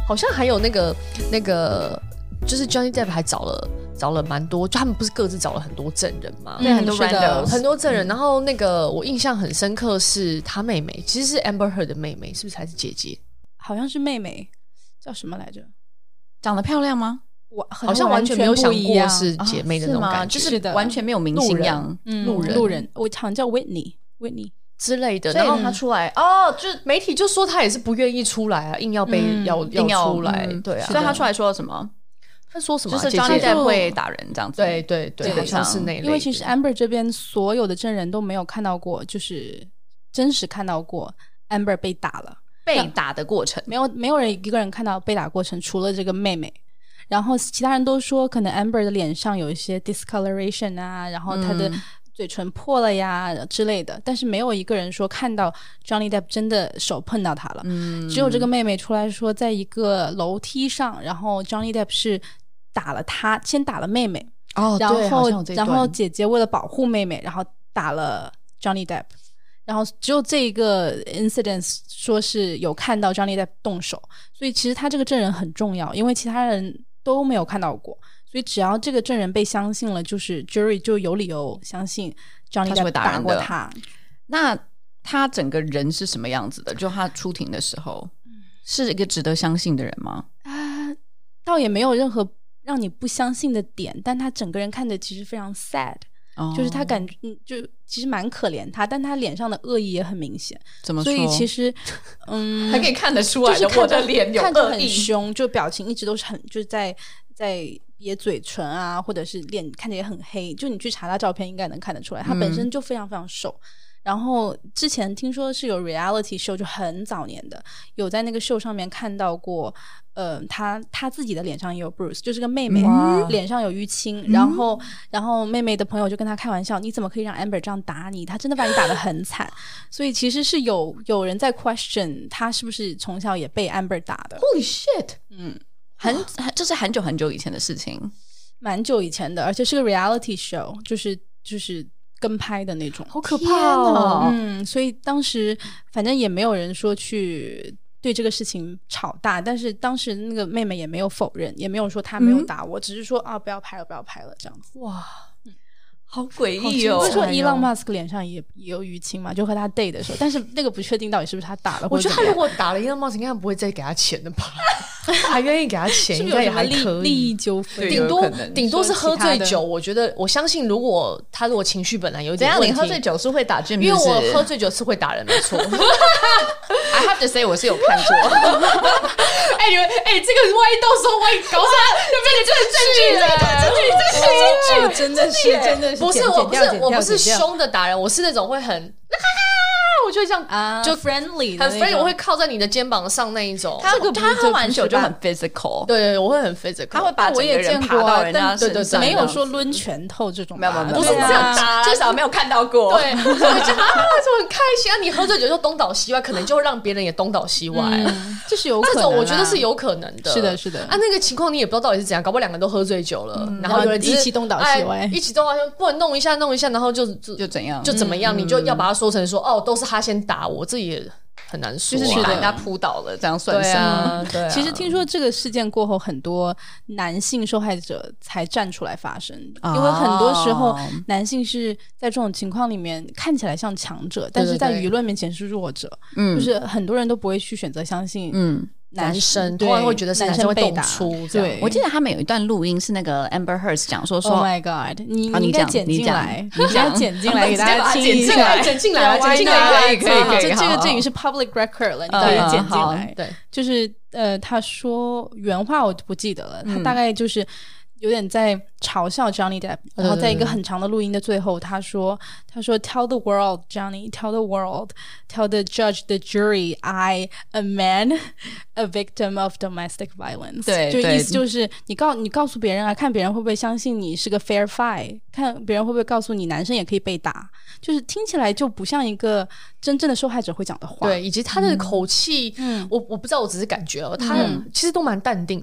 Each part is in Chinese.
好像还有那个就是 Johnny Depp 还找了蛮多，就他们不是各自找了很多证人嘛？ 对，很多 randos 很多证人。然后那个我印象很深刻是他妹妹，其实是 Amber Heard 的妹妹，是不是还是姐姐？ 好像是妹妹，叫什么来着？ 长得漂亮吗？ 我好像完全没有想过是姐妹的那种感觉， 就是完全没有明星样， 路人，我好像叫 Whitney 之类的。 然后他出来哦，就媒体就说他也是不愿意出来啊，硬要被要出来，对啊。 所以他出来说了什么？ 他说什么？ 就是 Johnny Depp 会打人这样子。 对对对，好像是那类的。 因为其实 Amber 这边所有的证人都没有看到过，就是真实看到过 Amber 被打了， 被打的过程， 没有人一个人看到被打过程，除了这个妹妹。然后其他人都说，可能 Amber 的脸上有一些 discoloration 啊，然后她的嘴唇破了呀之类的，但是没有一个人说看到 Johnny Depp 真的手碰到他了。只有这个妹妹出来说，在一个楼梯上，然后 Johnny Depp 是打了他，先打了妹妹，然后姐姐为了保护妹妹，然后打了 Johnny Depp。然后只有这个 incident 说是有看到 Johnny Depp 动手，所以其实他这个证人很重要，因为其他人都没有看到过，所以只要这个证人被相信了，就是 jury 就有理由相信 Johnny Depp 打过他。 那他整个人是什么样子的？就他出庭的时候是一个值得相信的人吗？ 倒也没有任何让你不相信的点，但他整个人看着其实非常 sad。就是他感觉就其实蛮可怜他，但他脸上的恶意也很明显。 怎么说？ 所以其实还可以看得出来的， 就是我的脸有恶意， 看着很凶，就表情一直都是很就是在憋嘴唇啊，或者是脸看起来也很黑，就你去查他照片应该能看得出来，他本身就非常非常瘦。然后之前听说是有 reality show， 就很早年的，有在那个秀上面看到过他自己的脸上也有 bruise， 就是个妹妹脸上有淤青，然后妹妹的朋友就跟他开玩笑，你怎么可以让 Amber 这样打你，他真的把你打得很惨。所以其实是有人在 question 他是不是从小也被 Amber 打的。 Holy shit。这是很久很久以前的事情， 蛮久以前的，而且是个 reality show， 就是跟拍的那种。 好可怕哦。 所以当时反正也没有人说去对这个事情吵大，但是当时那个妹妹也没有否认，也没有说她没有打我，只是说不要拍了不要拍了这样子。 哇， 好诡异哦。 不是说Elon Musk 脸上也有淤青嘛，就和他 date 的时候，但是那个不确定到底是不是他打了。 我觉得他如果打了Elon Musk应该不会再给他钱的吧。还愿意给他钱，应该也还可以。 利益纠纷， 顶多是喝醉酒。我觉得我相信，如果情绪本来有点问题， 你喝醉酒是会打Jim， 因为我喝醉酒是会打人，没错。 I have to say， 我是有看过。 你们这个万一到时候万一搞啥， 这个证据，真的是不是我不是凶的打人，我是那种会很。我就这样就 friendly 很 friendly， 我会靠在你的肩膀上那一种。 他喝完酒就很 physical， 对，我会很 physical， 他会把整个人爬到人家身上， 没有说抡拳头这种， 没有，不是这样打，至少没有看到过。 对，就就很开心啊！你喝醉酒就东倒西歪，可能就会让别人也东倒西歪， 这是有可能， 这种我觉得是有可能的。 是的那个情况你也不知道到底是怎样，搞不好两个人都喝醉酒了，然后有人一起东倒西歪， 一起东倒西歪，不能弄一下，然后就怎样就怎么样，你就要把它说成说都是他先打我，这也很难说， 就是把人家扑倒了，这样算什么？ 对啊。 其实听说这个事件过后，很多男性受害者才站出来发声，因为很多时候男性是在这种情况里面看起来像强者，但是在舆论面前是弱者。就是很多人都不会去选择相信。 男生通常会觉得是男生会动粗。 对， 我记得他们有一段录音是那个 Amber Heard 讲说 ，Oh my God， 你应该剪进来，你应该剪进来给大家听一下， 剪进来，可以， 这已经是 public record 了，你可以剪进来。 对， 就是他说原话我不记得了，他大概就是有点在嘲笑 Johnny Depp， 然后在一个很长的录音的最后，他说 Tell the world Johnny, tell the world, tell the judge, the jury, I, a man, a victim of domestic violence。 对， 就意思就是你告诉别人啊，看别人会不会相信你是个 fair fight， 看别人会不会告诉你男生也可以被打，就是听起来就不像一个真正的受害者会讲的话。 对，以及他的口气，我不知道，我只是感觉他其实都蛮淡定的。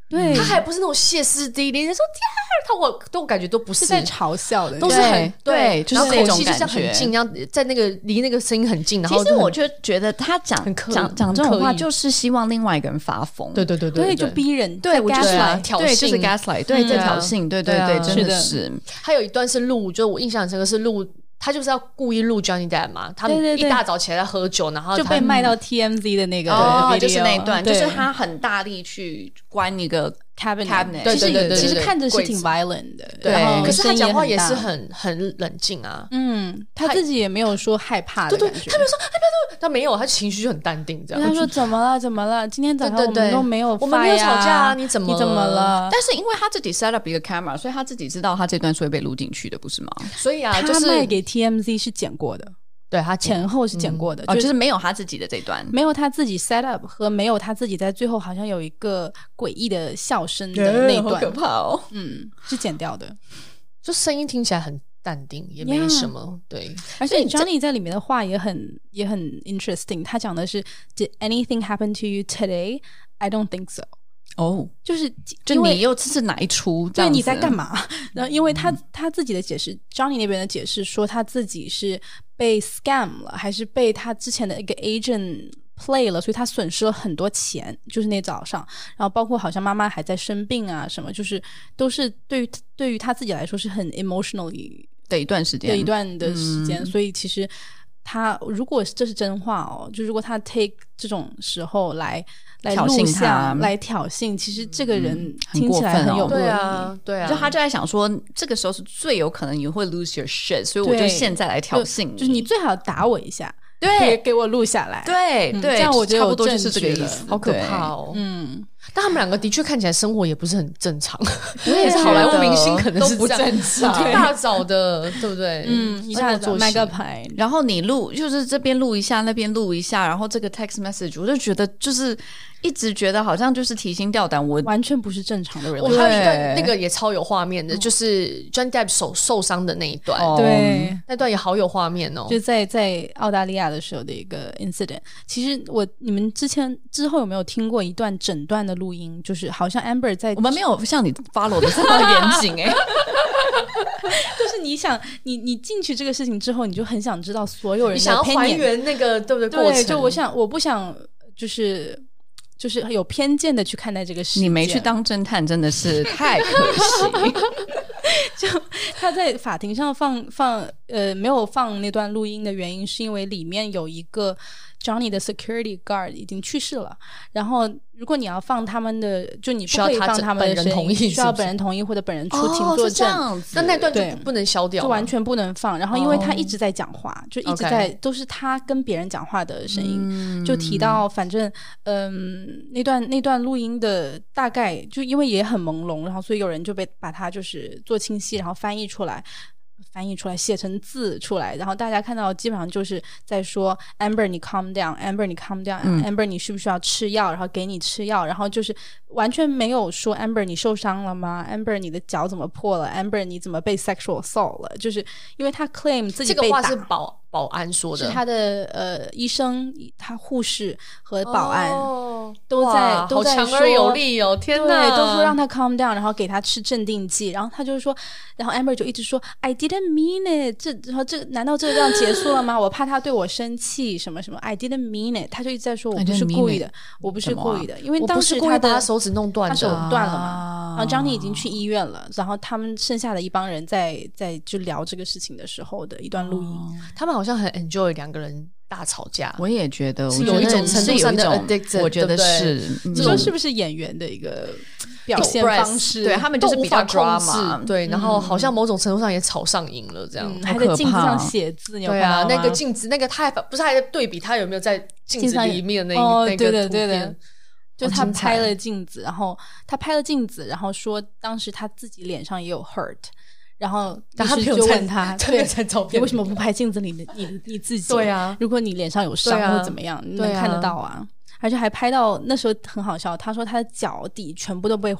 对他还不是那种歇斯底里，说天啊，我都感觉都不是在嘲笑的， 都是很对，就是然后口气就这种这样很近，然后在那个离那个声音很近，然后其实我就觉得他讲这种话， 很刻意就是希望另外一个人发疯。 对， 就逼人， 对，我觉得挑衅， 对，就是 gaslight， 对，在挑衅，对，真的是。 还有一段是录，就我印象很深刻是录。他就是要故意录 Johnny Depp 嘛，他们一大早起来在喝酒，然后就被卖到 TMZ 的那个就是那一段，就是他很大力去关一个 cabinet， 对， 其实看着是挺 violent 的， 对，可是他讲话也是很冷静啊， 他自己也没有说害怕的感觉， 他没有说他没有，他情绪就很淡定这样。 他说怎么了？今天早上我们都没有， 我们没有吵架啊，你怎么了？ 但是因为他自己 set up 一个 camera， 所以他自己知道他这段是会被录进去的，不是吗？ 所以啊， 他卖给 TMZ 是剪过的。 对，他前后是剪过的， 就是没有他自己的这段， 没有他自己 set up 和没有他自己在最后好像有一个诡异的笑声的那段， 好可怕哦， 是剪掉的， 就声音听起来很淡定，也没什么，对。 而且 Johnny 在里面的话也很 interesting， 他讲的是 Did anything happen to you today? I don't think so。就是你又这是哪一出？ 对，你在干嘛？然后因为他自己的解释 ，Johnny 那边的解释说他自己是被 scam 了，还是被他之前的一个 agent play 了，所以他损失了很多钱。就是那早上，然后包括好像妈妈还在生病啊什么，就是都是对于他自己来说是很 emotionally 的一段时间， 所以其实他如果这是真话哦，就如果他 take 这种时候来录像来挑衅，其实这个人听起来很有恶意。 对啊， 就他就在想说，这个时候是最有可能你会 lose your shit， 所以我就现在来挑衅你， 就是你最好打我一下， 对， 给我录下来， 对， 这样我觉得差不多就是这个意思。 好可怕哦，但他们两个的确看起来生活也不是很正常，也是好莱坞明星可能是都不正常， 一大早的，对不对？ 一下子卖个牌， 然后你录就是这边录一下，那边录一下，然后这个 text message， 我就觉得就是一直觉得好像就是提心吊胆，我完全不是正常的人。 我还有一段那个也超有画面的，就是 Johnny Depp 手受伤的那一段， 对， 那段也好有画面哦， 就在澳大利亚的时候的一个 incident。其实你们之后有没有听过一段整段的录音？就是好像 Amber 在， 我们没有像你 follow 的这么严谨就是你想你进去这个事情之后，你就很想知道所有人的 opinion， 你想要还原那个对不对过程？ 就我不想就是有偏见的去看待这个事情。 你没去当侦探真的是太可惜。 就他在法庭上没有放那段录音的原因，是因为里面有一个 Johnny 的 security guard 已经去世了，然后如果你要放他们的，就你不可以放他们的声音，需要本人同意或者本人出庭作证， 那段就不能消掉， 就完全不能放。然后因为他一直在讲话，就一直在都是他跟别人讲话的声音，就提到反正那段录音的大概就因为也很朦胧，然后所以有人就把它就是做清晰，然后翻译出来写成字出来，然后大家看到基本上就是在说 Amber 你 calm down， Amber 你 calm down， Amber 你需不需要吃药，然后给你吃药，然后就是完全没有说 Amber 你受伤了吗， Amber 你的脚怎么破了， Amber 你怎么被 sexual assault 了，就是因为他 claim 自己被打， 这个话是保安说的， 是他的医生他护士和保安都在好强而有力哦，天哪， 对，都说让他 calm down， 然后给他吃镇定剂，然后他就说，然后 Amber 就一直说 I didn't mean it， 然后难道这样结束了吗？我怕他对我生气什么什么 I didn't mean it， 他就一直在说我不是故意的，我不是故意的，因为当时他把手指弄断的， 他手断了嘛，然后 Johnny 已经去医院了，然后他们剩下的一帮人在就聊这个事情的时候的一段录音， 他们好像很 enjoy 两个人大吵架， 我也觉得是有一种程度上的 addicted， 我觉得是， 这说是不是演员的一个表现方式？ 对，他们就是比较 drama， 对，然后好像某种程度上也吵上瘾了，这样还在镜子上写字，你有看到吗？ 对啊，那个镜子，那个他不是还在对比他有没有在镜子里面那个对的图片。 就他拍了镜子，然后说当时他自己脸上也有 hurt， 然后但他就问他，对，你为什么不拍镜子里的你自己？ 对啊， 如果你脸上有伤或怎么样，你能看得到啊。而且还拍到那时候很好笑，他说他的脚底全部都被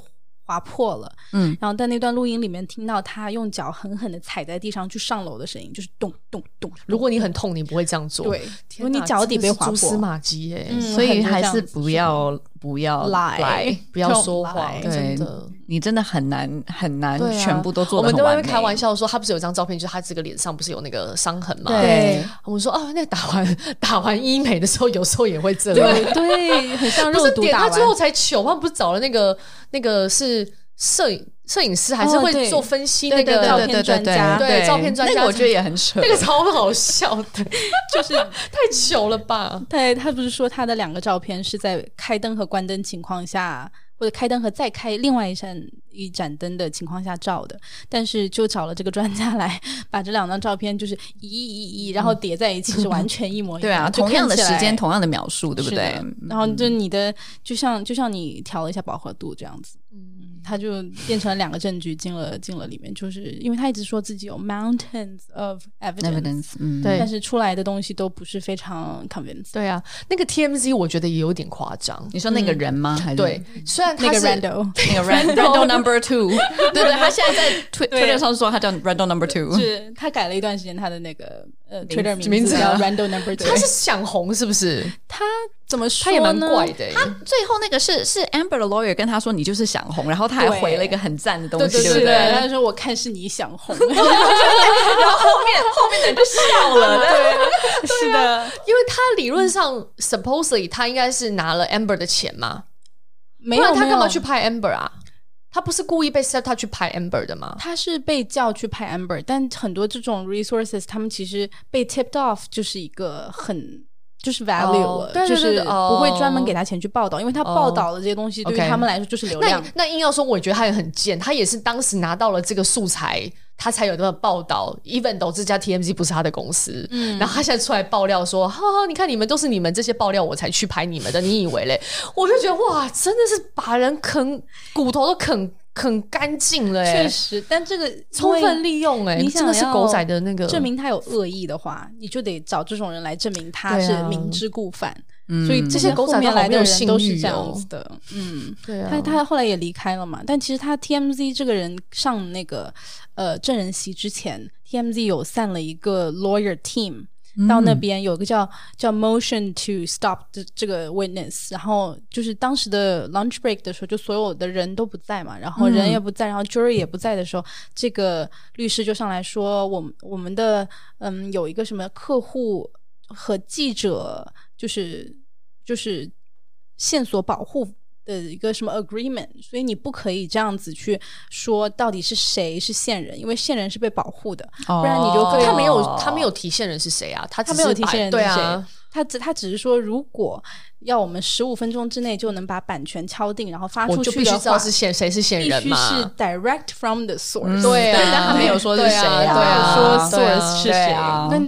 划破了，然后在那段录音里面听到他用脚狠狠的踩在地上去上楼的声音，就是咚咚咚。 如果你很痛，你不会这样做。 对，如果你脚底被划破， 蛛丝马迹耶。 所以还是不要来， 不要说谎，真的。 你真的很难全部都做得很完美。 我们在外面开玩笑说，他不是有张照片，就是他这个脸上不是有那个伤痕吗？ 对， 我们说那个打完医美的时候，有时候也会这样。 对，很像肉毒打完。 他最后才糗，他们不是找了那个是摄影师，还是会做分析那个照片专家？ 对，照片专家， 那个我觉得也很扯， 那个超好笑的，就是太糗了吧？ 对，他不是说他的2个照片是在开灯和关灯情况下，或者开灯和再开另外一盏灯的情况下照的，但是就找了这个专家来把这2张照片就是移，然后叠在一起是完全一模一样。 对啊，同样的时间，同样的描述，对不对？ 然后就你的就像你调了一下饱和度这样子。他就变成了2个证据进了里面，就是因为他一直说自己有 mountains of evidence， 对，但是出来的东西都不是非常 convincing。 对啊，那个 TMZ 我觉得也有点夸张。 你说那个人吗？还是对，虽然他是那个 Randall number 2， 对，他现在在 Twitter 上说他叫 Randall number 2， 是他改了一段时间他的那个Twitter 名字叫 Randall number 2， 他是想红是不是？ 他怎么说呢？ 他也蛮怪的。 他最后那个是 Amber 的 lawyer 跟他说你就是想红，然后他还回了一个很赞的东西，对不对？ 他说我看是你想红， 然后后面的人就笑了， 对，是的， 因为他理论上 supposedly 他应该是拿了 Amber 的钱嘛， 没有， 不然他干嘛去拍 Amber 啊？他不是故意被 set 他去拍 Amber 的吗？ 他是被叫去拍 Amber， 但很多这种 resources 他们其实被 tipped off 就是一个就是 value 了，就是不会专门给他钱去报道，因为他报道的这些东西对于他们来说就是流量。 那硬要说，我觉得他也很贱，他也是当时拿到了这个素材，他才有这个报道。even though 这家 TMZ 不是他的公司，然后他现在出来爆料说，你看你们都是你们这些爆料我才去拍你们的，你以为嘞？我就觉得哇，真的是把人骨头都啃干净了。 确实，但这个充分利用你真的是狗仔的那个。 证明他有恶意的话，你就得找这种人来证明他是明知故犯。所以这些狗仔来的人都是这样子的。 对啊， 他后来也离开了嘛。但其实他 TMZ 这个人上那个证人席之前 ，TMZ 有散了一个 lawyer team。到那边有个叫 motion to stop 这个 witness， 然后就是当时的 lunch break 的时候，就所有的人都不在嘛，然后人也不在，然后 jury 也不在的时候，这个律师就上来说，我们的有一个什么客户和记者就是线索保护的一个什么 agreement， 所以你不可以这样子去说到底是谁是线人，因为线人是被保护的，不然你就他没有提线人是谁啊？他没有提线人是谁？ 对啊， 他只是说，如果要我们15分钟之内就能把版权敲定，然后发出去的话， 我就必须知道是谁是线人嘛， 必须是 direct from the source。 对啊， 但他没有说是谁啊，说 source 是谁？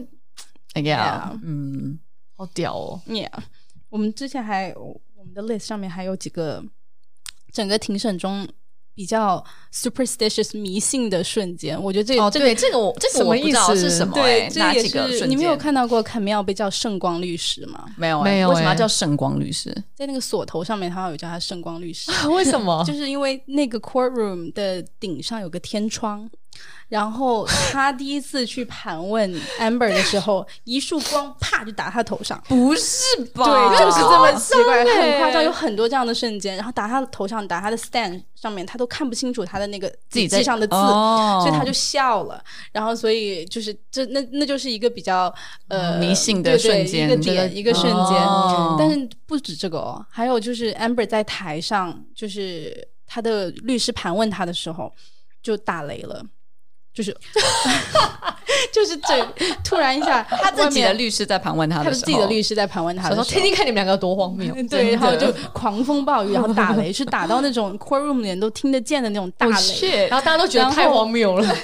好屌哦 ！Yeah， 我们之前我们的 list 上面还有几个整个庭审中比较 superstitious 迷信的瞬间，我觉得这个我不知道是什么。 对， 哪几个瞬间？ 你没有看到过Camille被叫圣光律师吗？ 没有，为什么要叫圣光律师？ 在那个锁头上面，他有叫他圣光律师。 为什么？ 就是因为那个 courtroom 的顶上有个天窗。然后他第一次去盘问 Amber 的时候，一束光啪就打他头上。 不是吧？ 对，就是这么奇怪，很夸张，有很多这样的瞬间。然后打他的头上，打他的 stand 上面，他都看不清楚他的那个笔记上的字，所以他就笑了。然后所以就是那就是一个比较迷信的瞬间， 一个瞬间。但是不止这个还有就是 Amber 在台上，就是他的律师盘问他的时候就打雷了。就是突然一下， 他自己的律师在盘问他的时候， 他自己的律师在盘问他的时候， 听听看你们两个多荒谬。 对，然后就狂风暴雨，然后打雷，是打到那种 courtroom 里面都听得见的那种大雷， 然后大家都觉得太荒谬了。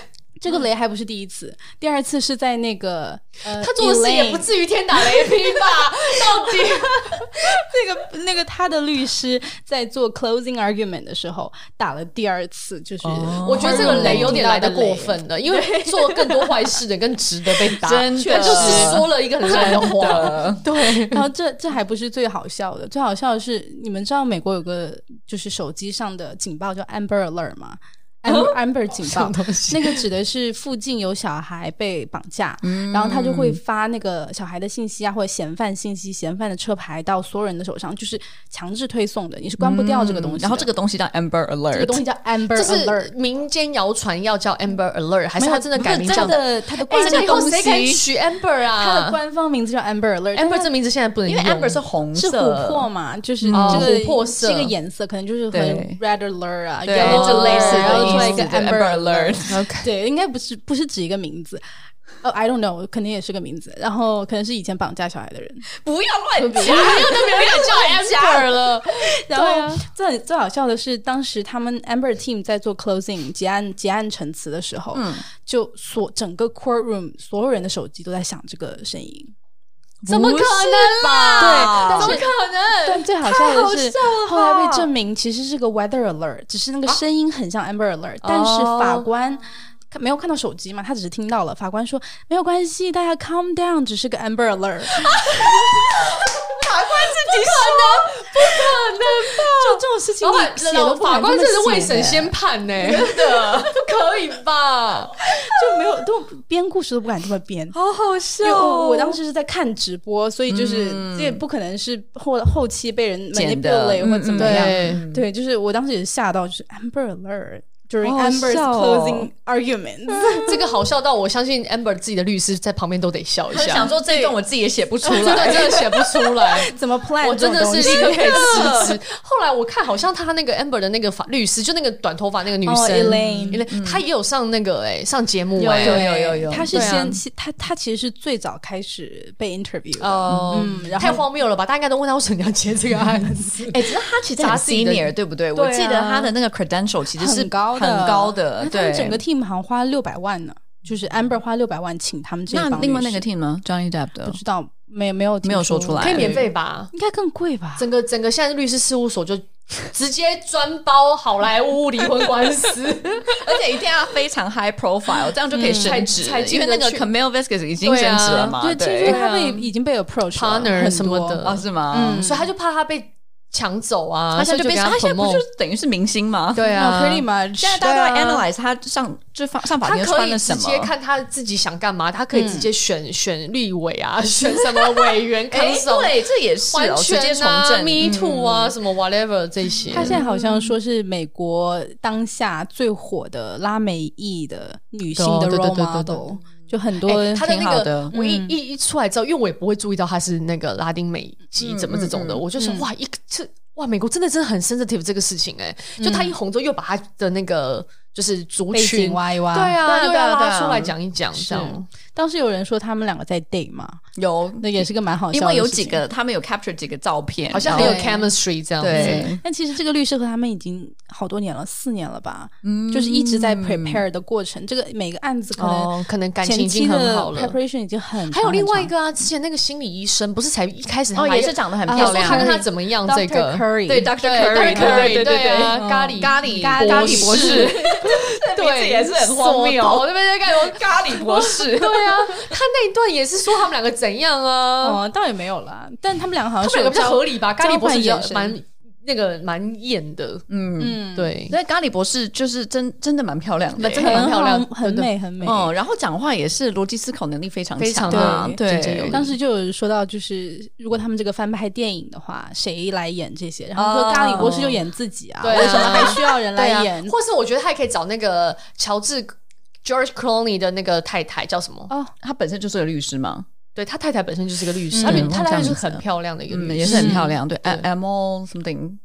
这个雷还不是第一次，第二次是在那个他做的事也不至于天打雷劈吧？到底那个他的律师在做 closing argument 的时候打了第二次，就是我觉得这个雷有点来得过分了，因为做更多坏事的跟值得被打， 真的就是说了一个很烂的话。对， 然后这还不是最好笑的，最好笑的是你们知道美国有个就是手机上的警报叫 Amber Alert 吗？Amber 警报，那个指的是附近有小孩被绑架，然后他就会发那个小孩的信息啊，或者嫌犯信息、嫌犯的车牌到所有人的手上，就是强制推送的，你是关不掉这个东西的。 然后这个东西叫 Amber Alert， 这个东西叫 Amber 这是 Alert， 民间谣传要叫 Amber Alert， 还是他真的改名叫他的官这个以后方谁敢取 Amber 啊？ 他的官方名字叫 Amber Alert，Amber 这名字现在不能用， 因为 Amber 是红色， 是琥珀嘛，就是这个琥珀色这个颜色，可能就是和 Red Alert 啊对 ，Yellow 就类似的然后出来一个意思 Amber Alert， 对，应该不是指一个名字。I don't know， 肯定也是个名字，然后可能是以前绑架小孩的人。 不要乱讲， 没有叫 Amber 了。 然后最好笑的是，当时他们 Amber Team 在做 closing 结案陈词的时候，就整个 courtroom 所有人的手机都在响这个声音。 怎么可能啦？ 对，怎么可能？ 但最好笑的是，后来被证明其实是个 weather alert， 只是那个声音很像 Amber Alert，但是法官没有看到手机嘛，他只是听到了。法官说没有关系，大家 calm down， 只是个 Amber Alert。 法官自己说不可能吧？ 就这种事情你写都不敢这么写， 法官这是未审先判呢，真的不可以吧？ 就没有都编故事都不敢这么编， 好好笑。 我当时是在看直播，所以就是这也不可能是后期被人 manipulate 或怎么样。对，就是我当时也是吓到，就是 Amber Alert。During Amber's closing arguments， 这个好笑到我相信 Amber 自己的律师在旁边都得笑一下， 想说这一段我自己也写不出来， 这段真的写不出来， 怎么 plan？ 我真的是立刻可以辞职。后来我看好像他那个 Amber 的那个律师，就那个短头发那个女生 Elaine， 她也有上那个上节目有， 她是先她其实是最早开始被 interview 的， 然后太荒谬了吧？大家应该都问他为什么你要接这个案子？ 只是他其实很 senior， 对不对？我记得他的那个 credential 其实是很高的， 对，整个 team 好像花600万呢，就是 Amber 花600万请他们这帮律师。 那另外那个 team 呢 ，Johnny Depp 的不知道，没有说出来， 可以免费吧？ 应该更贵吧？ 整个现在律师事务所就直接专包好莱坞离婚官司， 而且一定要非常 high profile， 这样就可以升职，因为那个 Camille Vasquez 已经升职了嘛。 对，听说他已经被 approach partner 什么的是吗？ 所以他就怕他被抢走啊， 他现在他现在不就等于是明星吗？ 对啊 ，pretty much。 现在大家都在 analyze 他上法庭穿了什么， 他可以直接看他自己想干嘛，他可以直接选立委啊，选什么委员看守， 对，这也是直接从政 ，Me Too 啊，什么 whatever 这些。 他现在好像说是美国当下最火的拉美裔的女性的 role model。就很多他的那个，我一出来之后，因为我也不会注意到他是那个拉丁美籍怎么这种的，我就说哇，美国真的很 sensitive 这个事情就他一红之后又把他的那个就是族群挖一挖， 对啊，又要拉出来讲一讲，这样。 当时有人说他们两个在 date 嘛， 有， 那也是个蛮好笑的事情， 因为有几个他们有 capture 几个照片， 好像很有 chemistry 这样子。 对， 但其实这个律师和他们已经好多年了，4年了吧，就是一直在 prepare 的过程。这个每个案子可能感情已经很好了 ，preparation 已经很长。 还有另外一个啊，之前那个心理医生不是才一开始也是长得很漂亮， 看看他怎么样这个 Curry， 对 Dr. Curry， 对啊，咖喱博士， 对，也是很荒谬。 我那边在看咖喱博士， 对啊，他那一段也是说他们两个怎样啊？ 倒也没有啦，但他们两个好像他们两个比较合理吧？咖喱博士蛮艳的，对。 所以咖喱博士就是真的蛮漂亮的， 真的蛮漂亮， 很美很美。 然后讲话也是逻辑思考能力非常强， 对。当时就有说到，就是如果他们这个翻拍电影的话，谁来演这些？然后说咖喱博士就演自己啊，为什么还需要人来演？ 或是我觉得他也可以找那个乔治 George Clooney 的那个太太叫什么？ 他本身就是个律师吗？ 对，他太太本身就是个律师，他太太是很漂亮的一个律师， 也是很漂亮。对 ，Amo something，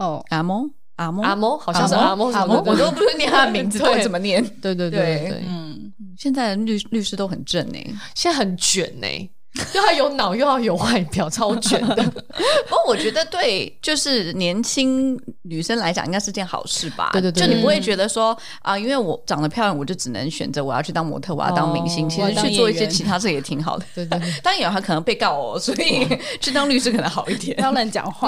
Amo 好像是 Amo， 我都不会念他的名字，到底怎么念？ 对， 现在的律师都很正现在很卷又要有脑又要有外表，超卷的。 不过我觉得对就是年轻女生来讲应该是件好事吧。 对对对， 就你不会觉得说因为我长得漂亮我就只能选择我要去当模特，我要当明星，其实去做一些其他事也挺好的。 对对对， 当然有他可能被告所以去当律师可能好一点。 不要乱讲话。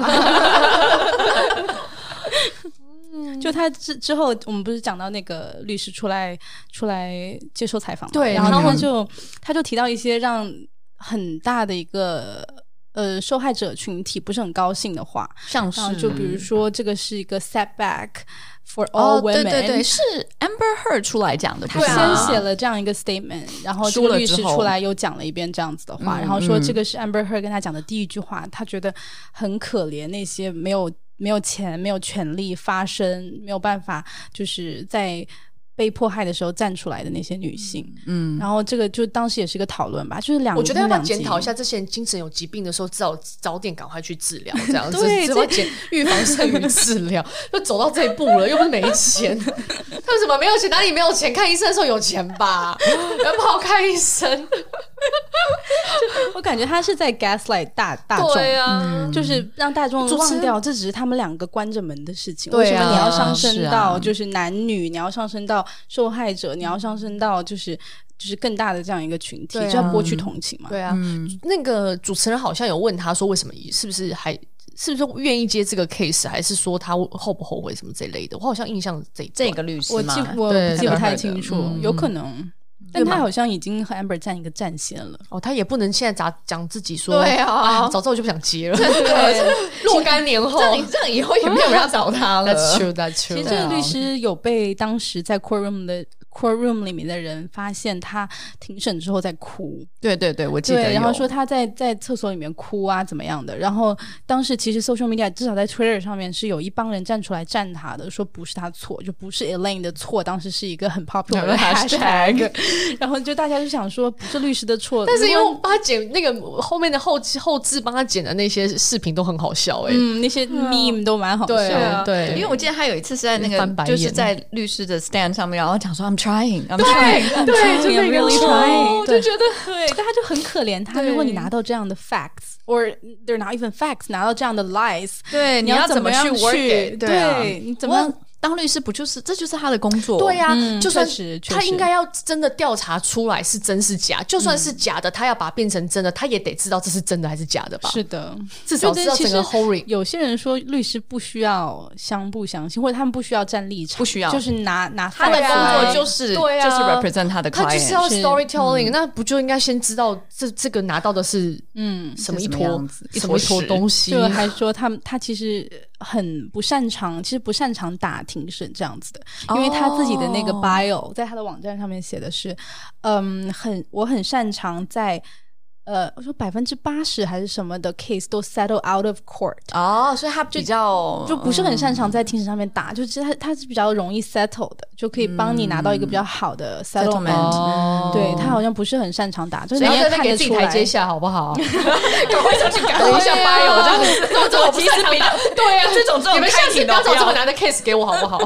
就他之后，我们不是讲到那个律师出来接受采访嘛？ 对， 然后他就提到一些让很大的一个受害者群体不是很高兴的话， 像是就比如说这个是一个 setback for all women， 对对对，是 Amber Heard 出来讲的， 他先写了这样一个 statement， 然后这个律师出来又讲了一遍这样子的话，然后说这个是 Amber Heard 跟他讲的第一句话，他觉得很可怜那些没有钱、没有权利发声、没有办法就是在被迫害的时候站出来的那些女性。然后这个就当时也是一个讨论吧，就是我觉得要不要检讨一下这些人精神有疾病的时候早点赶快去治疗，这样子对， 只要预防胜于治疗。就走到这一步了，又不是没钱，他们怎么没有钱？哪里没有钱？看医生的时候有钱吧，要不好看医生。 我感觉他是在 gaslight 大众， 对啊， 就是让大众忘掉这只是他们两个关着门的事情。 对啊， 为什么你要上升到就是男女，你要上升到受害者，你要上升到就是更大的这样一个群体，就要剥去同情嘛。 对啊，那个主持人好像有问他说，为什么是不是愿意接这个 case， 还是说他后不后悔什么这类的？我好像印象这个律师我记不太清楚，有可能。但他好像已经和 Amber 站一个战线了。 他也不能现在讲自己说， 对啊， 早知道我就不想接了。对，若干年后， 这样以后也没有人要找他了。 That's true. 其实这个律师有被当时在 courtroom 里面的人发现他庭审之后在哭。 对对对，我记得有。 然后说他在厕所里面哭啊怎么样的。然后当时其实 social media 至少在 Twitter 上面是有一帮人站出来站他的，说不是他错，就不是 Elaine 的错，当时是一个很 popular 的 hashtag。然后就大家就想说不是律师的错， 但是因为帮他剪那个后面的后置帮他剪的那些视频都很好笑那些 meme 都蛮好笑的。对， 因为我记得他有一次是在那个就是在律师的 stand 上面，然后讲说 I'm trying， 对，就 really trying， 就觉得对，但他就很可怜他。如果你拿到这样的 facts or they're not even facts， 拿到这样的 lies， 对，你要怎么去 work？ 对，你怎么当律师不就是这就是他的工作？ 对啊，就算他应该要真的调查出来是真是假，就算是假的，他要把它变成真的，他也得知道这是真的还是假的吧？ 是的， 至少知道整个 whole。 有些人说律师不需要相不相信，或者他们不需要站立场， 不需要， 就是拿他的工作就是对啊， 就是 represent 他的 client， 他就是要 storytelling，那不就应该先知道这个拿到的是什么一坨东西？ 就还说他其实很不擅长，其实不擅长打庭审这样子的，因为他自己的那个 bio 在他的网站上面写的是，我很擅长在我说80%还是什么的 case 都 settle out of court。 所以他比较就不是很擅长在庭审上面打，就其实他是比较容易 settle 的，就可以帮你拿到一个比较好的 settlement。对，他好像不是很擅长打，就是你也看得出来。 台阶下好不好？ 赶快上去改一下 bio， 这样子。 我其实比较对啊， 这种你们下次不要找这么难的 case 给我好不好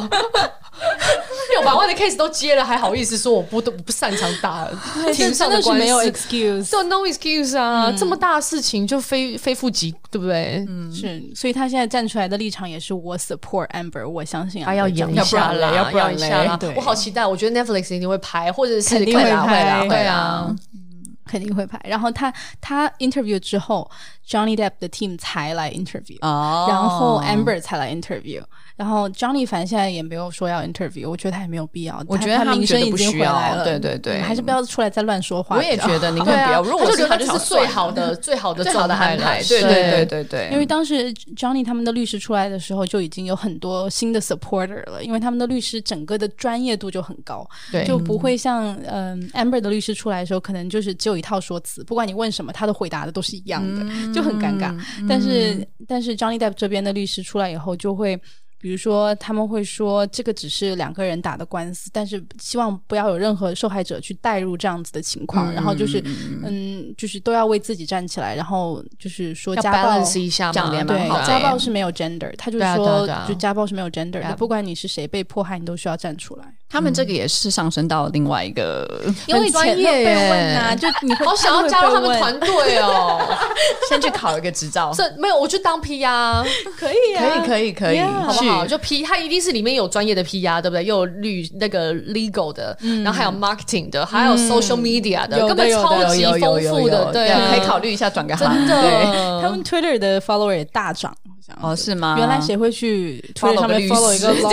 ？600万的 case 都接了，还好意思说我不擅长打庭上的官司？ 没有 excuse， so no excuse 啊！这么大的事情就非富即，对不对？ 是，所以他现在站出来的立场也是我 support Amber， 我相信他要演一下啦，要演一下啦。我好期待，我觉得 Netflix 一定会拍，或者是肯定会拍， 对啊。 肯定会拍。然后他 interview 之后 Johnny Depp 的 team 才来 interview，然后 Amber 才来 interview， 然后 Johnny 反正现在也没有说要 interview， 我觉得他也没有必要， 我觉得他名声已经回来了， 对对对， 还是不要出来再乱说话。 我也觉得宁可不要，如果是他就是最好的状态来， 对对对对对。 因为当时 Johnny 他们的律师出来的时候就已经有很多新的 supporter 了，因为他们的律师整个的专业度就很高，就不会像Amber 的律师出来的时候可能就是只有一套说辞，不管你问什么他的回答的都是一样的，就很尴尬。但是 Johnny Depp 这边的律师出来以后就会比如说他们会说这个只是2个人打的官司，但是希望不要有任何受害者去带入这样子的情况，然后就是就是都要为自己站起来，然后就是说家暴一下嘛， 对，家暴是没有 gender， 他就是说就家暴是没有 gender 的，不管你是谁被迫害你都需要站出来。 他们这个也是上升到另外一个， 因为专业被问啊，就你会好想要加入他们团队哦。 先去考一个执照。 这没有，我去当 PR 可以啊， 可以 Yeah 好不好？就 P， 他一定是里面有专业的 PR， 对不对？又有那个 legal 的，然后还有 marketing 的，还有 social media 的，根本超级丰富的，对啊， 可以考虑一下转个行。 真的， 他们 Twitter 的 follower 也大涨。 哦，是吗？ 原来谁会去 Twitter 上面 follow 一个 law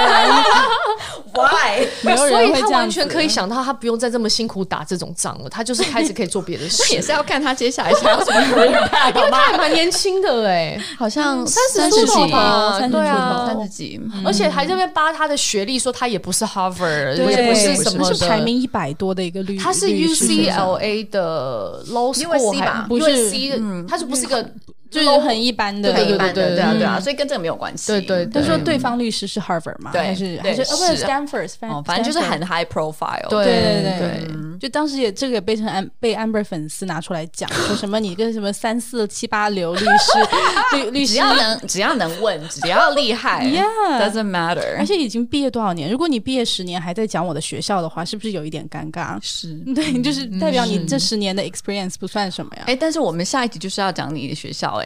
Why？ 没有所以他人会这样子完全可以想到，他不用再这么辛苦打这种仗了，他就是开始可以做别的事。 也是要看他接下来想要什么 career path， 因为他还蛮年轻的好像 30 出头几吧，对啊 ，30几， 而且还在那边扒他的学历，说他也不是 Harvard， 对也不是什么的， 是排名100多的一个律师， 他是 UCLA 的 Law School 吧不是 USC， 他就不是个。 就是很一般的， 很一般的， 对对啊，所以跟这个没有关系。 对， 就说对方律师是 Harvard 吗？ 对， 还是不是 Stanford？ 反正就是很 high profile。 对，就当时这个也被Amber 粉丝拿出来讲，说什么你跟什么3、4、7、8流律师，律师只要能问，只要厉害 ，doesn't matter。 而且已经毕业多少年？如果你毕业10年还在讲我的学校的话，是不是有一点尴尬？ 是， 对，就是代表你这10年的 experience 不算什么呀。 但是我们下一集就是要讲你的学校。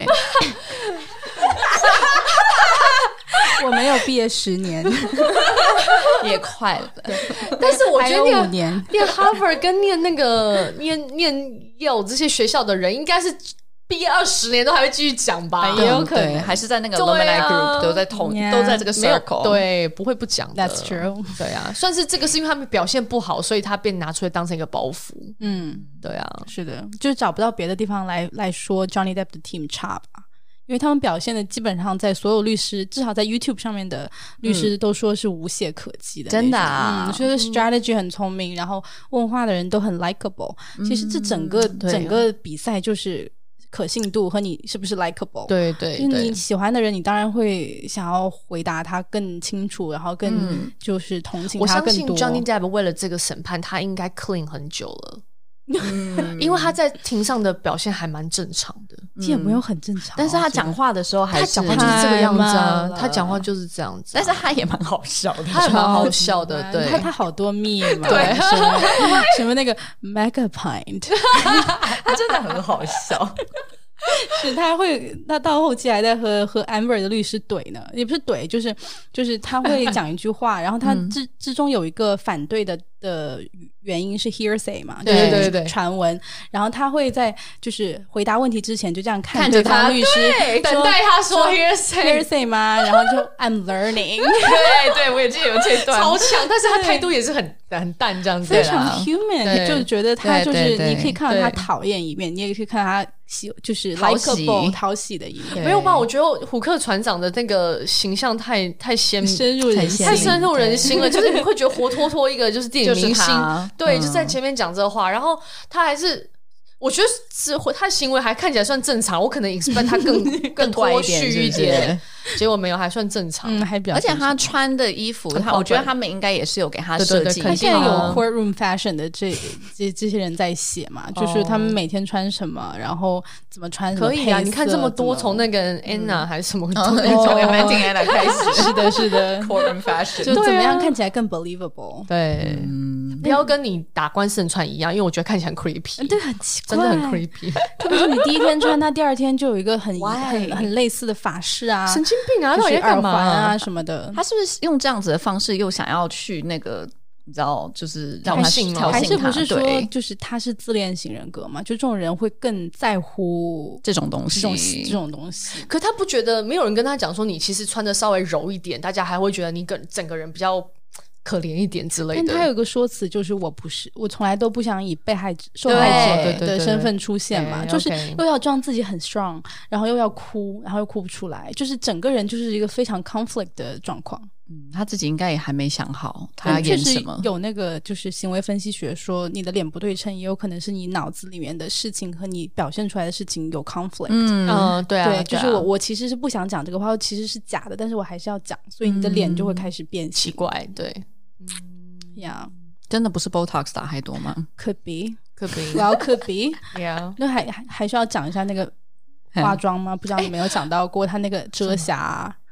我没有毕业10年， 也快了。 但是我觉得 5年念 Harvard 跟念那个念 Yale 这些学校的人，应该是毕业20年都还会继续讲吧？ 也有可能， 还是在那个 alumni group 都在都在这个 circle， 对，不会不讲的。 That's true。 对啊，算是这个是因为他们表现不好，所以他被拿出来当成一个包袱。对啊， 是的，就是找不到别的地方来说 Johnny Depp 的 team 差吧。因为他们表现的基本上在所有律师，至少在 YouTube 上面的律师都说是无懈可击的， 真的啊， 所以 strategy 很聪明，然后问话的人都很 likable。其实这整个比赛就是可信度和你是不是 likable。 对， 就是你喜欢的人，你当然会想要回答他更清楚，然后更就是同情他更多。 我相信 Johnny Depp 为了这个审判，他应该 clean 很久了。因为他在庭上的表现还蛮正常的， 也没有很正常， 但是他讲话的时候还是他讲话就是这个样子啊，他讲话就是这样子， 但是他也蛮好笑的， 他也蛮好笑的，对， 他好多密嘛， 对， 什么那个 Megapint， 他真的很好笑。 是他到后期还在和 Amber 的律师怼呢，也不是怼，就是他会讲一句话，然后他之中有一个反对的原因是 hearsay 嘛， 对传闻，然后他会在就是回答问题之前就这样看着他律师， 等待他说 hearsay 吗？然后就 I'm learning， 对，我也记得有这段超强，但是他态度也是很淡这样子， 非常 human， 就觉得他就是你可以看到他讨厌一面，你也可以看到他就是 likable 讨喜的一面。 没有吧？我觉得虎克船长的那个形象太深入人心， 太深入人心了，就是你会觉得活脱脱一个就是电影明星，对，就在前面讲这话，然后他还是。我觉得是他行为还看起来算正常，我可能 expect 他更脱序一点，结果没有，还算正常， 还比较正常。 而且他穿的衣服，我觉得他们应该也是有给他设计。 他现在有 courtroom fashion 的这些人在写嘛，就是他们每天穿什么，然后怎么穿什么配色。 可以啊，你看这么多，从那个 Anna 还是什么， 从 Anna 开始， 是的 courtroom fashion 就怎么样看起来更 believable。 对，不要跟你打官司穿一样，因为我觉得看起来很 creepy， 对，很奇怪。 真的很 creepy， 特别是你第一天穿它，第二天就有一个很类似的发饰啊， 神经病啊， 就是耳环啊什么的。 他是不是用这样子的方式又想要去那个？你知道，就是让他还是不是说，就是他是自恋型人格嘛？就这种人会更在乎这种东西， 这种东西。 可他不觉得没有人跟他讲说，你其实穿的稍微柔一点，大家还会觉得你整个人比较可怜一点之类的。 但他有个说辞，就是我从来都不想以受害者的身份出现嘛，就是又要装自己很 strong， 然后又要哭，然后又哭不出来，就是整个人就是一个非常 conflict 的状况。 他自己应该也还没想好他要演什么。 有那个就是行为分析学说，你的脸不对称，也有可能是你脑子里面的事情和你表现出来的事情有 conflict。 对啊， 对，就是我其实是不想讲这个话，其实是假的，但是我还是要讲，所以你的脸就会开始变奇怪。对， 呀， 真的不是 Botox 打太多吗 ？Could be， Well, could be。那还需要讲一下那个化妆吗？不知道你没有讲到过他那个遮瑕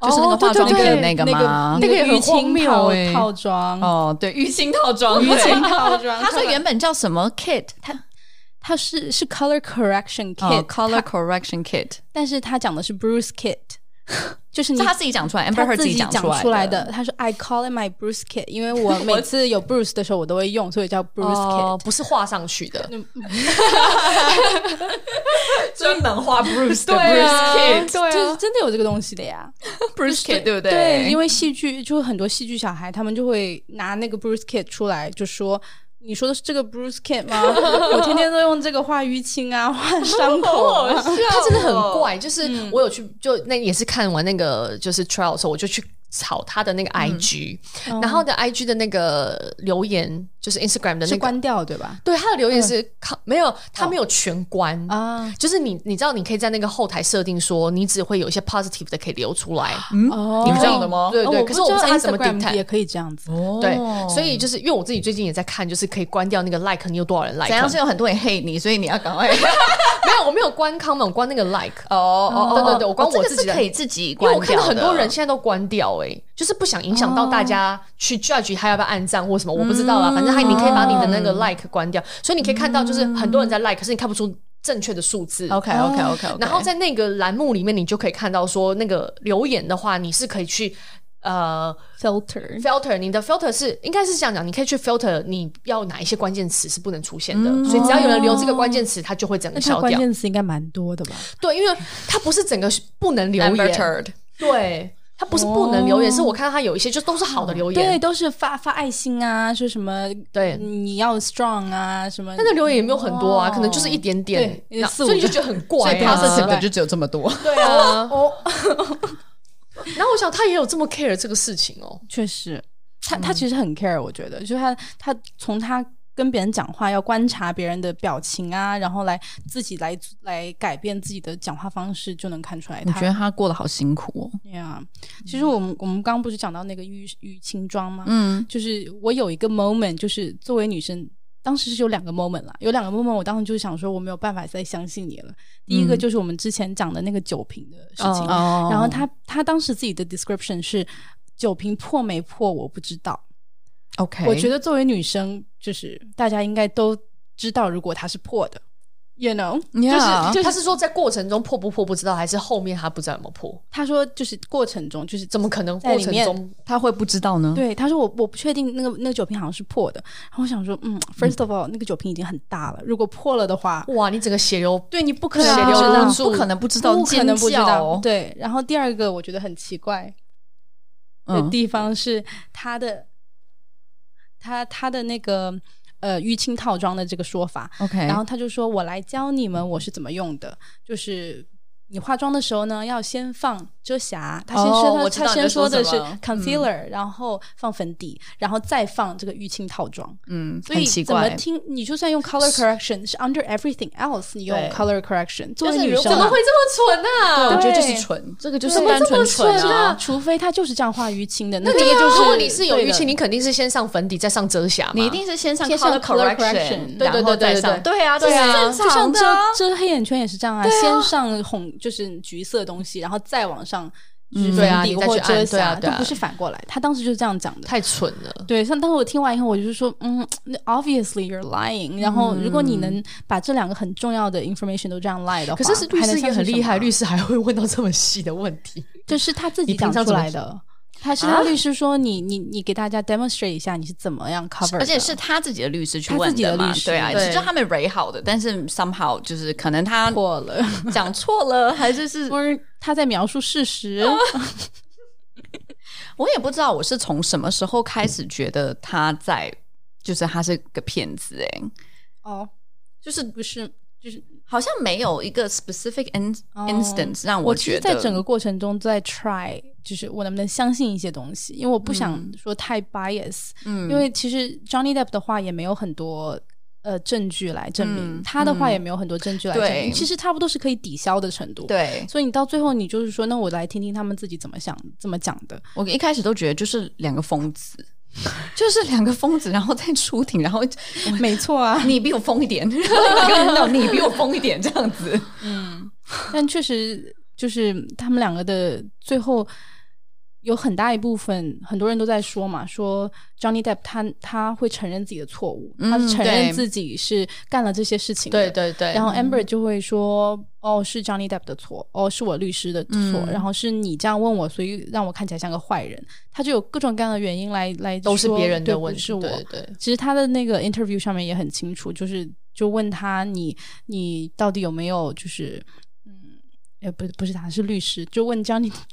就是那个化妆品的那个吗？ 那个也很荒谬套装哦，对，淤青套装， 淤青套装。 他说原本叫什么 kit？ 它是 color correction kit，color correction kit， 但是他讲的是 Bruce kit。就是他自己讲出来 ，Amber Heard 自己讲出来的。他说 I call it my Bruce kit， 因为我每次有 Bruce 的时候我都会用，所以叫 Bruce kit， 不是画上去的， 专门画 Bruce 的 Bruce kit， 对啊，就是真的有这个东西的呀 ，Bruce kit 对不对？ 对，因为戏剧就很多戏剧小孩，他们就会拿那个 Bruce kit 出来，就说。你说的是这个 Bruce kit 吗？我天天都用这个画淤青啊，画伤口啊。 他真的很怪，就是我有去，就那也是看完那个就是 trial 的时候，我就去炒他的那个 IG，然后的 IG 的那个留言就是 Instagram 的那个是关掉对吧？ 对，他的留言是没有，他没有全关啊，就是你知道你可以在那个后台设定说你只会有一些 positive 的可以留出来， 你们这样的吗？ 对对，可是我不知道他怎么 Instagram 也可以这样子， 对，所以就是因为我自己最近也在看，就是可以关掉那个 like， 你有多少人 like， 怎样是有很多人 hate 你，所以你要赶快没有，我没有关 comment， 我关那个 like， 对，我关我自己的， 可以自己关掉的， 因为我看到很多人现在都关掉就是不想影响到大家去 judge 他要不要按赞或什么，我不知道啦，反正你可以把你的那个 like 关掉，所以你可以看到就是很多人在 like， 可是你看不出正确的数字。 OK， 然后在那个栏目里面，你就可以看到说那个留言的话，你是可以去filter， 你的 filter 是应该是这样讲，你可以去 filter 你要哪一些关键词是不能出现的，所以只要有人留这个关键词，它就会整个消掉。 关键词应该蛮多的吧？ 对，因为它不是整个不能留言，对。他不是不能留言，是我看到他有一些就都是好的留言， 对，都是发爱心啊，说什么对你要 strong 啊什么， 但是留言也没有很多啊，可能就是一点点，所以你就觉得很怪啊，所以 positive 的就只有这么多， 对啊。然后我想他也有这么 care 这个事情确实，他其实很 care， 我觉得，就是他从他跟别人讲话要观察别人的表情啊，然后自己来改变自己的讲话方式，就能看出来。 我觉得他过得好辛苦其实我们刚刚不是讲到那个淤青妆吗？就是我有一个 moment， 就是作为女生，当时是有2个 moment 啦，有2个 moment， 我当时就想说我没有办法再相信你了。第一个就是我们之前讲的那个酒瓶的事情，然后他当时自己的 description 是酒瓶破没破我不知道。 OK， 我觉得作为女生，就是大家应该都知道，如果它是破的 ，you know， 他是说在过程中破不破不知道，还是后面他不知道有没有破？ 他说就是过程中，就是怎么可能过程中他会不知道呢？ 对，他说我不确定那个酒瓶好像是破的，然后我想说，first of all，那个酒瓶已经很大了，如果破了的话， 哇，你整个血流， 对你不可能血流不不可能不知道， 不可能不知道，对。然后第二个我觉得很奇怪的地方是他的那个淤青套装的这个说法 ，OK， 然后他就说我来教你们我是怎么用的，就是你化妆的时候呢，要先放遮瑕，他先说的是 concealer，然后放粉底，然后再放这个淤青套装。所以怎么听你就算用 color correction 是 under everything else， 你用 color correction， 作为女生怎么会这么蠢啊？ 我觉得就是蠢，这个就是单纯蠢啊！ 除非他就是这样画淤青的， 那个就是如果你是有淤青，你肯定是先上粉底再上遮瑕嘛， 你一定是先上 color correction， 对， 对啊， 这是正常的。 遮黑眼圈也是这样啊，先上就是橘色的东西，然后再往上就是粉底或遮瑕，都不是反过来。他当时就是这样讲的， 太蠢了。 对，像当时我听完以后，我就是说，obviously you're lying。然后如果你能把这2个很重要的 information 都这样 lie 的话， 可是律师也很厉害，律师还会问到这么细的问题， 这是他自己讲出来的。他律师说你给大家 demonstrate 一下你是怎么样 cover 的， 而且是他自己的律师去问的嘛，对啊，其实他们 re 好的，但是 somehow 就是可能他错了， 讲错了，还是他在描述事实。 我也不知道我是从什么时候开始觉得他是个骗子就是不是就是好像没有一个 specific instance 让我觉得， 在整个过程中在 try， 就是我能不能相信一些东西，因为我不想说太 bias，因为其实 Johnny Depp 的话也没有很多证据来证明，他的话也没有很多证据来证明，其实差不多是可以抵消的程度。 对， 所以你到最后你就是说，那我来听听他们自己怎么讲的。 我一开始都觉得就是2个疯子。就是2个疯子，然后再出庭，然后没错啊， 你比我疯一点，你比我疯一点，这样子。 但确实就是他们2个的最后有很大一部分很多人都在说嘛，说 Johnny Depp 他会承认自己的错误，他是承认自己是干了这些事情的， 对对对。 然后 Amber 就会说是 Johnny Depp 的错，是我律师的错，然后是你这样问我，所以让我看起来像个坏人。他就有各种各样的原因来都是别人的问题， 不是我。 对对。 其实他的那个 interview 上面也很清楚，就问他你到底有没有就是不是他是律师，就问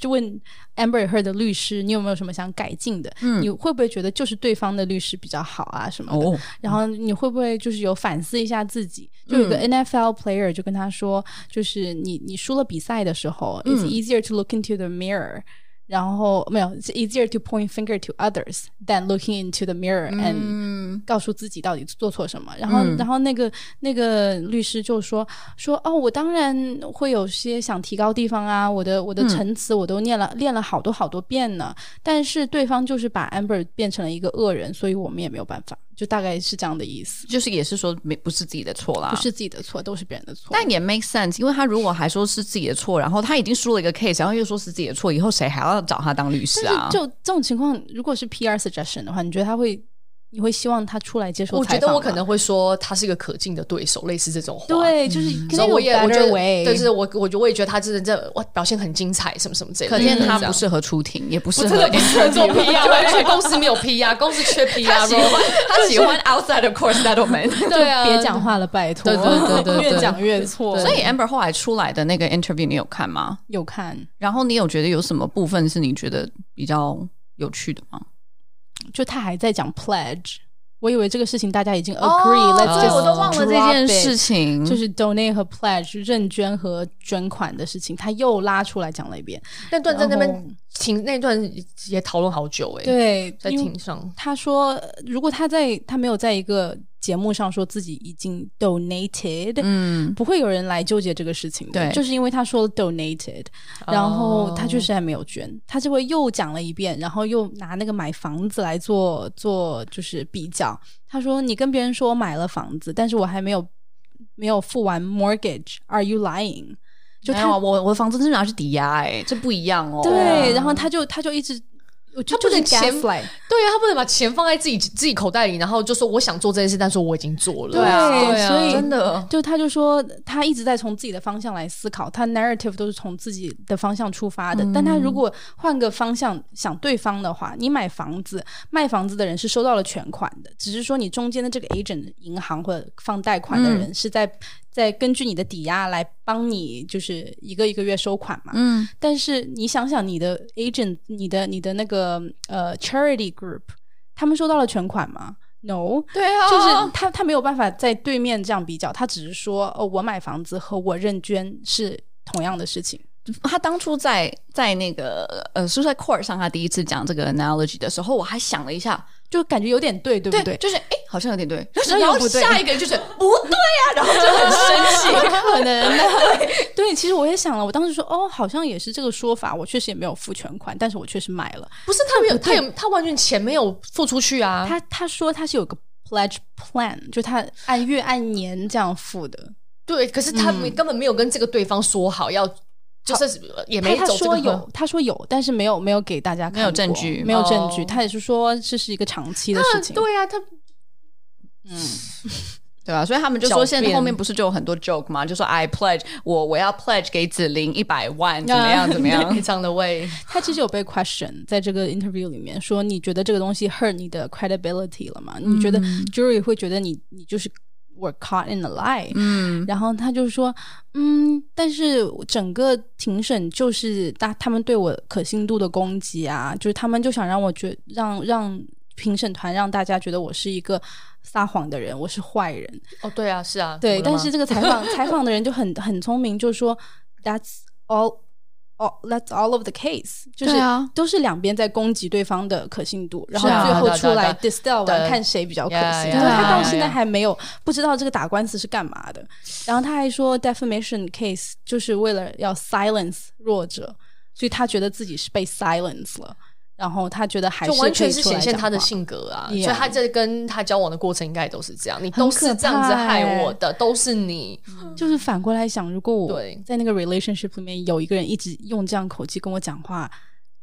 Amber Heard 的律师，你有没有什么想改进的？你会不会觉得就是对方的律师比较好啊什么的？然后你会不会就是有反思一下自己？就有个 NFL player 就跟他说，就是你输了比赛的时候，it's easier to look into the mirror。然后没有 it's easier to point finger to others than looking into the mirror and 告诉自己到底做错什么。然后那个律师就说我当然会有些想提高地方啊，我的陈词我都练了好多好多遍呢，但是对方就是把 Amber 变成了一个恶人，所以我们也没有办法，就大概是这样的意思。 就是也是说不是自己的错啦， 不是自己的错，都是别人的错。 但也 make sense， 因为他如果还说是自己的错，然后他已经输了一个 case， 然后又说是自己的错，以后谁还要找他当律师啊？ 就这种情况，如果是 PR suggestion 的话，你觉得你会希望他出来接受采访吗？ 我觉得我可能会说他是一个可敬的对手，类似这种话。 对，就是所以我觉得，对，就是我也觉得他真的表现很精彩，什么什么之类的。 可见他不适合出庭，也不适合做 PR， 完全公司没有 PR， 公司缺 PR。 他喜欢 outside of court settlement。 对啊，别讲话了，拜托。 对， 越讲越错。 所以 Amber 后来出来的那个 interview 你有看吗？ 有看。 然后你有觉得有什么部分是你觉得比较有趣的吗？ 就他还在讲 pledge， 我以为这个事情大家已经 agree，let's just 我都忘了这件事情， 就是 donate 和 pledge 认捐和捐款的事情，他又拉出来讲了一遍。 那段在那边那段也讨论好久对， 在庭上他说如果他没有在一个节目上说自己已经 donated，不会有人来纠结这个事情的。对，就是因为他说 donated，然后他确实还没有捐，他就会又讲了一遍，然后又拿那个买房子来做就是比较。他说你跟别人说我买了房子，但是我还没有付完 mortgage， are you lying？ 就没有我的房子是拿去抵押这不一样哦。 对，然后他就一直。 他不能钱，对啊，他不能把钱放在自己口袋里，然后就说我想做这件事，但是我已经做了。 对啊，所以真的， 他就说他一直在从自己的方向来思考，他 narrative 都是从自己的方向出发的。但他如果换个方向想对方的话，你买房子卖房子的人是收到了全款的，只是说你中间的这个 agent 银行或者放贷款的人是在根据你的抵押来帮你就是一个一个月收款嘛。但是你想想你的 agent 你的那个charity group 他们收到了全款吗？ No。 对啊， 就是他没有办法在对面这样比较，他只是说我买房子和我认捐是同样的事情。 他当初在那个Suicide Court 上他第一次讲这个 analogy 的时候，我还想了一下， 就感觉有点对，对不对？ 就是好像有点对，然后下一个人就是不对啊，然后就很生气。 可能对，其实我也想了，我当时说好像也是这个说法，我确实也没有付全款，但是我确实买了。 不是他完全钱没有付出去啊。 他说他是有个 pledge plan， 就他按月按年这样付的。 对，可是他根本没有跟这个对方说好要。就是也没走这个他说有，但是没有给大家看过， 没有证据， 没有证据。他也是说这是一个长期的事情。 对啊， 对吧？所以他们就说现在后面不是就有很多 joke 吗？就说 I pledge 我要 pledge 给子琳100万，怎么样非常的way。 他其实有被 question 在这个 interview 里面说，你觉得这个东西 hurt 你的 credibility 了吗？你觉得 jury 会觉得你就是were caught in a lie。然后他就说但是整个庭审就是他们对我可信度的攻击啊，就是他们就想让我让评审团让大家觉得我是一个撒谎的人，我是坏人。 对啊，是啊， 对。但是这个采访的人就很聪明，就说 that's all of the case， 就是都是两边在攻击对方的可信度，然后最后出来 distill 完看谁比较可信。然后他到现在还没有不知道这个打官司是干嘛的。然后他还说 defamation case 就是为了要 silence 弱者，所以他觉得自己是被 silence 了。然后他觉得还是可以出来讲话，就完全是显现他的性格啊。所以他在跟他交往的过程应该都是这样，你都是这样子害我的，都是你。 就是反过来想，如果我在那个 relationship 里面有一个人一直用这样口气跟我讲话，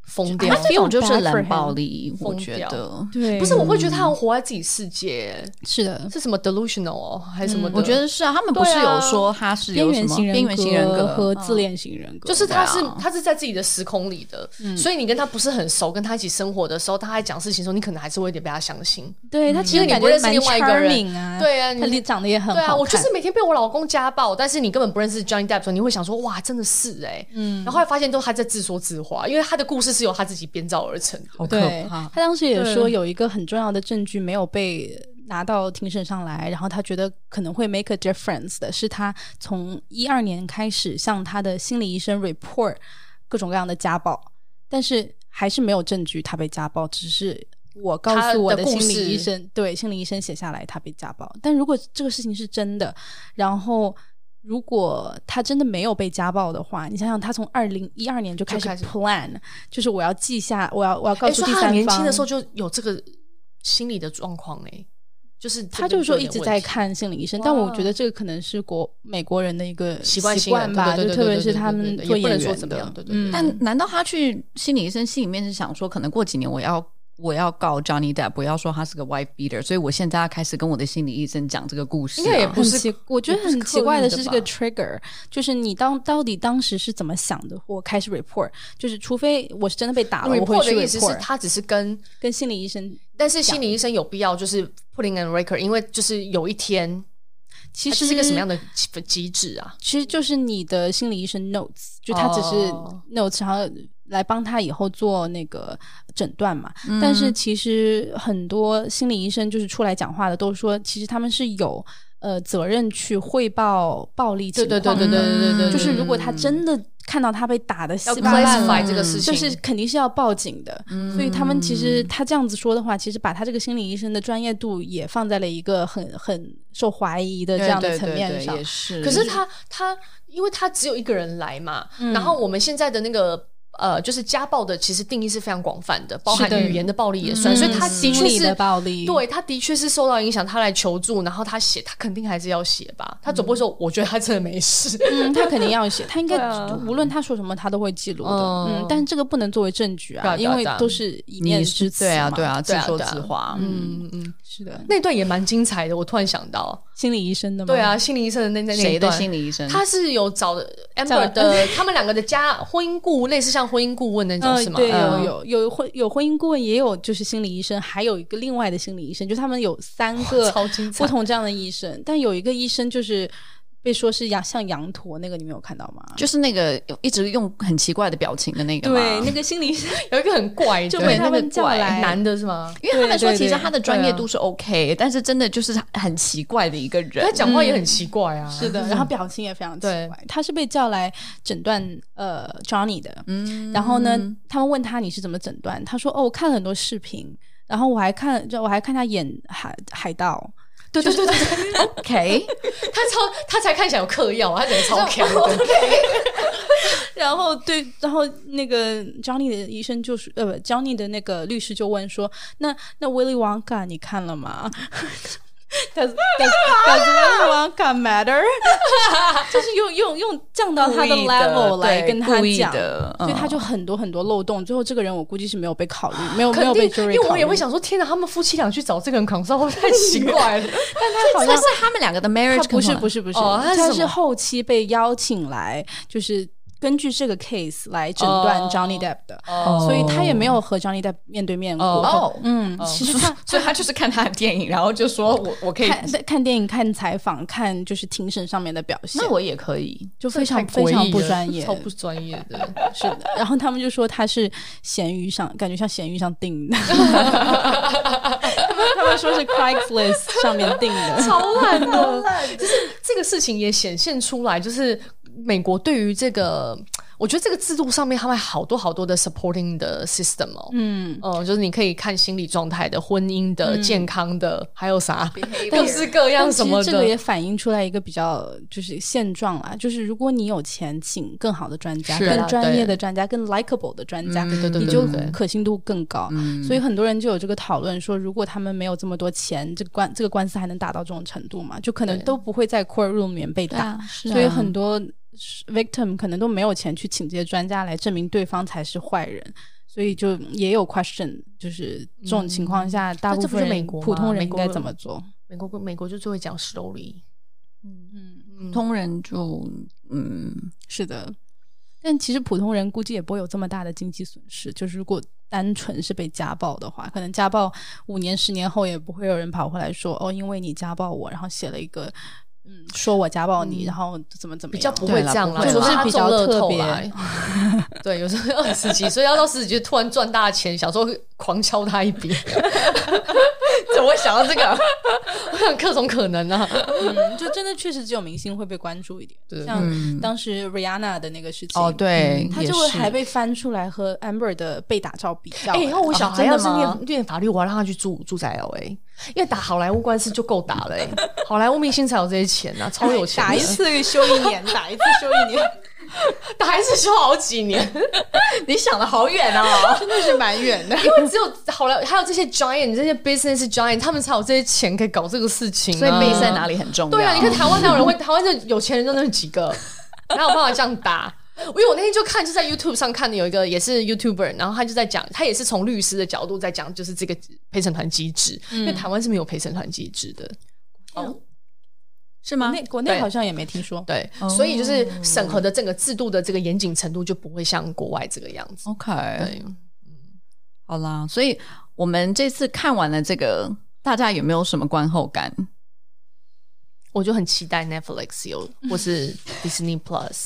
疯掉， 这种就是冷暴力，我觉得对， 不是，我会觉得他好像活在自己世界， 是的， 是什么 delusional 还是什么的？ 我觉得是啊，他们不是有说他是有什么边缘型人格和自恋型人格， 就是他是在自己的时空里的，所以你跟他不是很熟，跟他一起生活的时候，他在讲事情的时候，你可能还是会有点被他相信。 对他其实你不认识另外一个人啊， 对啊， 他长得也很好看。 对啊，我就是每天被我老公家暴，但是你根本不认识 Johnny Depp 的时候，你会想说哇，真的是然后后来发现都他在自说自话，因为他的故事是由他自己编造而成的。 好可怕。 他当时也说有一个很重要的证据没有被拿到庭审上来，然后他觉得可能会 make a difference 的是他从2012年开始向他的心理医生 report 各种各样的家暴，但是还是没有证据他被家暴，只是我告诉我的心理医生，对，心理医生写下来他被家暴。但如果这个事情是真的，然后如果他真的没有被家暴的话，你想想他从2012年就开始 plan， 就是我要记下，我要告诉第三方。 他很年轻的时候就有这个心理的状况就是他就是说一直在看心理医生，但我觉得这个可能是美国人的一个习惯吧，就特别是他们做演员的。 但难道他去心理医生心里面是想说，可能过几年我要告 Johnny Depp， 不要说他是个 wife beater， 所以我现在要开始跟我的心理医生讲这个故事。 应该也不是， 我觉得很奇怪的是这个 trigger， 就是你到底当时是怎么想的？我开始 report， 就是除非我是真的被打了，我会去 report。 的意思是他只是跟心理医生， 但是心理医生有必要就是 putting on record， 因为就是有一天。其实是一个什么样的机制啊？ 其实就是你的心理医生 notes， 就他只是 notes， 然后来帮他以后做那个诊断嘛。但是其实很多心理医生就是出来讲话的都说，其实他们是有责任去汇报暴力情况。对，就是如果他真的看到他被打的稀巴烂了， 这个事情就是肯定是要报警的。所以他们其实他这样子说的话，其实把他这个心理医生的专业度也放在了一个很受怀疑的这样的层面上。 也是。 可是他因为他只有一个人来嘛，然后我们现在的那个就是家暴的其实定义是非常广泛的，包含语言的暴力也算，所以他的确是的暴力， 对，他的确是受到影响，他来求助，然后他写，他肯定还是要写吧，他总不会说我觉得他真的没事， 他肯定要写，他应该无论他说什么他都会记录的，但是这个不能作为证据啊，因为都是一面之词嘛， 对啊，自说自话， 是的， 那段也蛮精彩的，我突然想到心理医生的吗？ 对啊，心理医生的那段， 谁的心理医生？ 他是有找的 Amber 的他们两个的婚姻顾，类似像婚姻顾问那种是吗？ 对，有婚姻顾问，也有就是心理医生，还有一个另外的心理医生，就他们有3个不同这样的医生，但有一个医生就是被说是像羊驼那个，你没有看到吗？ 就是那个一直用很奇怪的表情的那个吗？ 对，那个心理医生有一个很怪的， 就被他们叫来， 男的是吗？ 因为他们说其实他的专业度是 OK，但是真的就是很奇怪的一个人， 他讲话也很奇怪啊， 是的，然后表情也非常奇怪。他是被叫来诊断Johnny 的，然后呢，他们问他你是怎么诊断？他说我看了很多视频，然后我还看他演海盗。 对 OK， 他才看起来有嗑药，他整个超强的。 然后那个 Johnny 的医生就是Johnny 的那个律师就问说，那 Willy Wonka 你看了吗？Does Willy Wonka matter？ 就是用降到他的 level 来跟他讲，所以他就很多很多漏洞。最后这个人我估计是没有被考虑，没有被 jury 考虑。 因为我也会想说，天哪，他们夫妻俩去找这个人consult会太奇怪了。 但他好像是他们两个的 marriage， 不是，他是后期被邀请来，就是根据这个 case 来诊断 Johnny Depp 的，所以他也没有和 Johnny Depp 面对面过。其实所以他就是看他的电影，然后就说我可以看电影、看采访、看就是庭审上面的表现。 那我也可以， 就非常非常不专业， 超不专业的。 是的，然后他们就说他是闲鱼上，感觉像闲鱼上订的。他们说是 Craigslist 上面订的， 超烂的。就是这个事情也显现出来，就是美国对于这个，我觉得这个制度上面他们好多好多的 supporting 的 system 就是你可以看心理状态的、婚姻的、健康的，还有啥各式各样什么的。 其实这个也反映出来一个比较就是现状啦，就是如果你有钱请更好的专家、更专业的专家、更 likable 的专家，你就可信度更高。所以很多人就有这个讨论说，如果他们没有这么多钱，这个官司还能打到这种程度吗？就可能都不会在 court room 里面被打。所以很多victim 可能都没有钱去请这些专家来证明对方才是坏人， 所以就也有 question， 就是这种情况下，大部分人普通人应该怎么做？ 美国就最会讲 slowly， 普通人是的。但其实普通人估计也不会有这么大的经济损失，就是如果单纯是被家暴的话，可能家暴5年10年后也不会有人跑回来说因为你家暴我，然后写了一个说我家暴你，然后怎么样， 比较不会这样啦， 就是比较特别对，有时候20几岁要到40几岁突然赚大钱，小时候狂敲他一笔怎么会想到这个我想各种可能啊就真的确实只有明星会被关注一点， 对， 像当时 Rihanna 的那个事情对， 他就会还被翻出来和 Amber 的被打照比较以后我小孩要是念法律，我要让他去住在 LA， 因为打好莱坞官司就够打了好莱坞明星才有这些钱啊，超有钱的， 打一次休1年打一次休1年打一次休好几年你想的好远真的是蛮远的因为只有好莱坞还有这些 giant 这些 business giant 他们才有这些钱可以搞这个事情所以base在哪里很重要。 对啊，你看台湾哪有人会台湾这有钱人就那几个哪有办法这样打因为我那天就看就在 YouTube 上看的有一个也是 YouTuber， 然后他就在讲，他也是从律师的角度在讲就是这个陪审团机制，因为台湾是没有陪审团机制的是吗？ 国内好像也没听说。 对，所以就是审核的整个制度的这个严谨程度就不会像国外这个样子。 OK， 对， 好啦，所以我们这次看完了这个，大家有没有什么观后感？ 我就很期待 Netflix 有，或是 Disney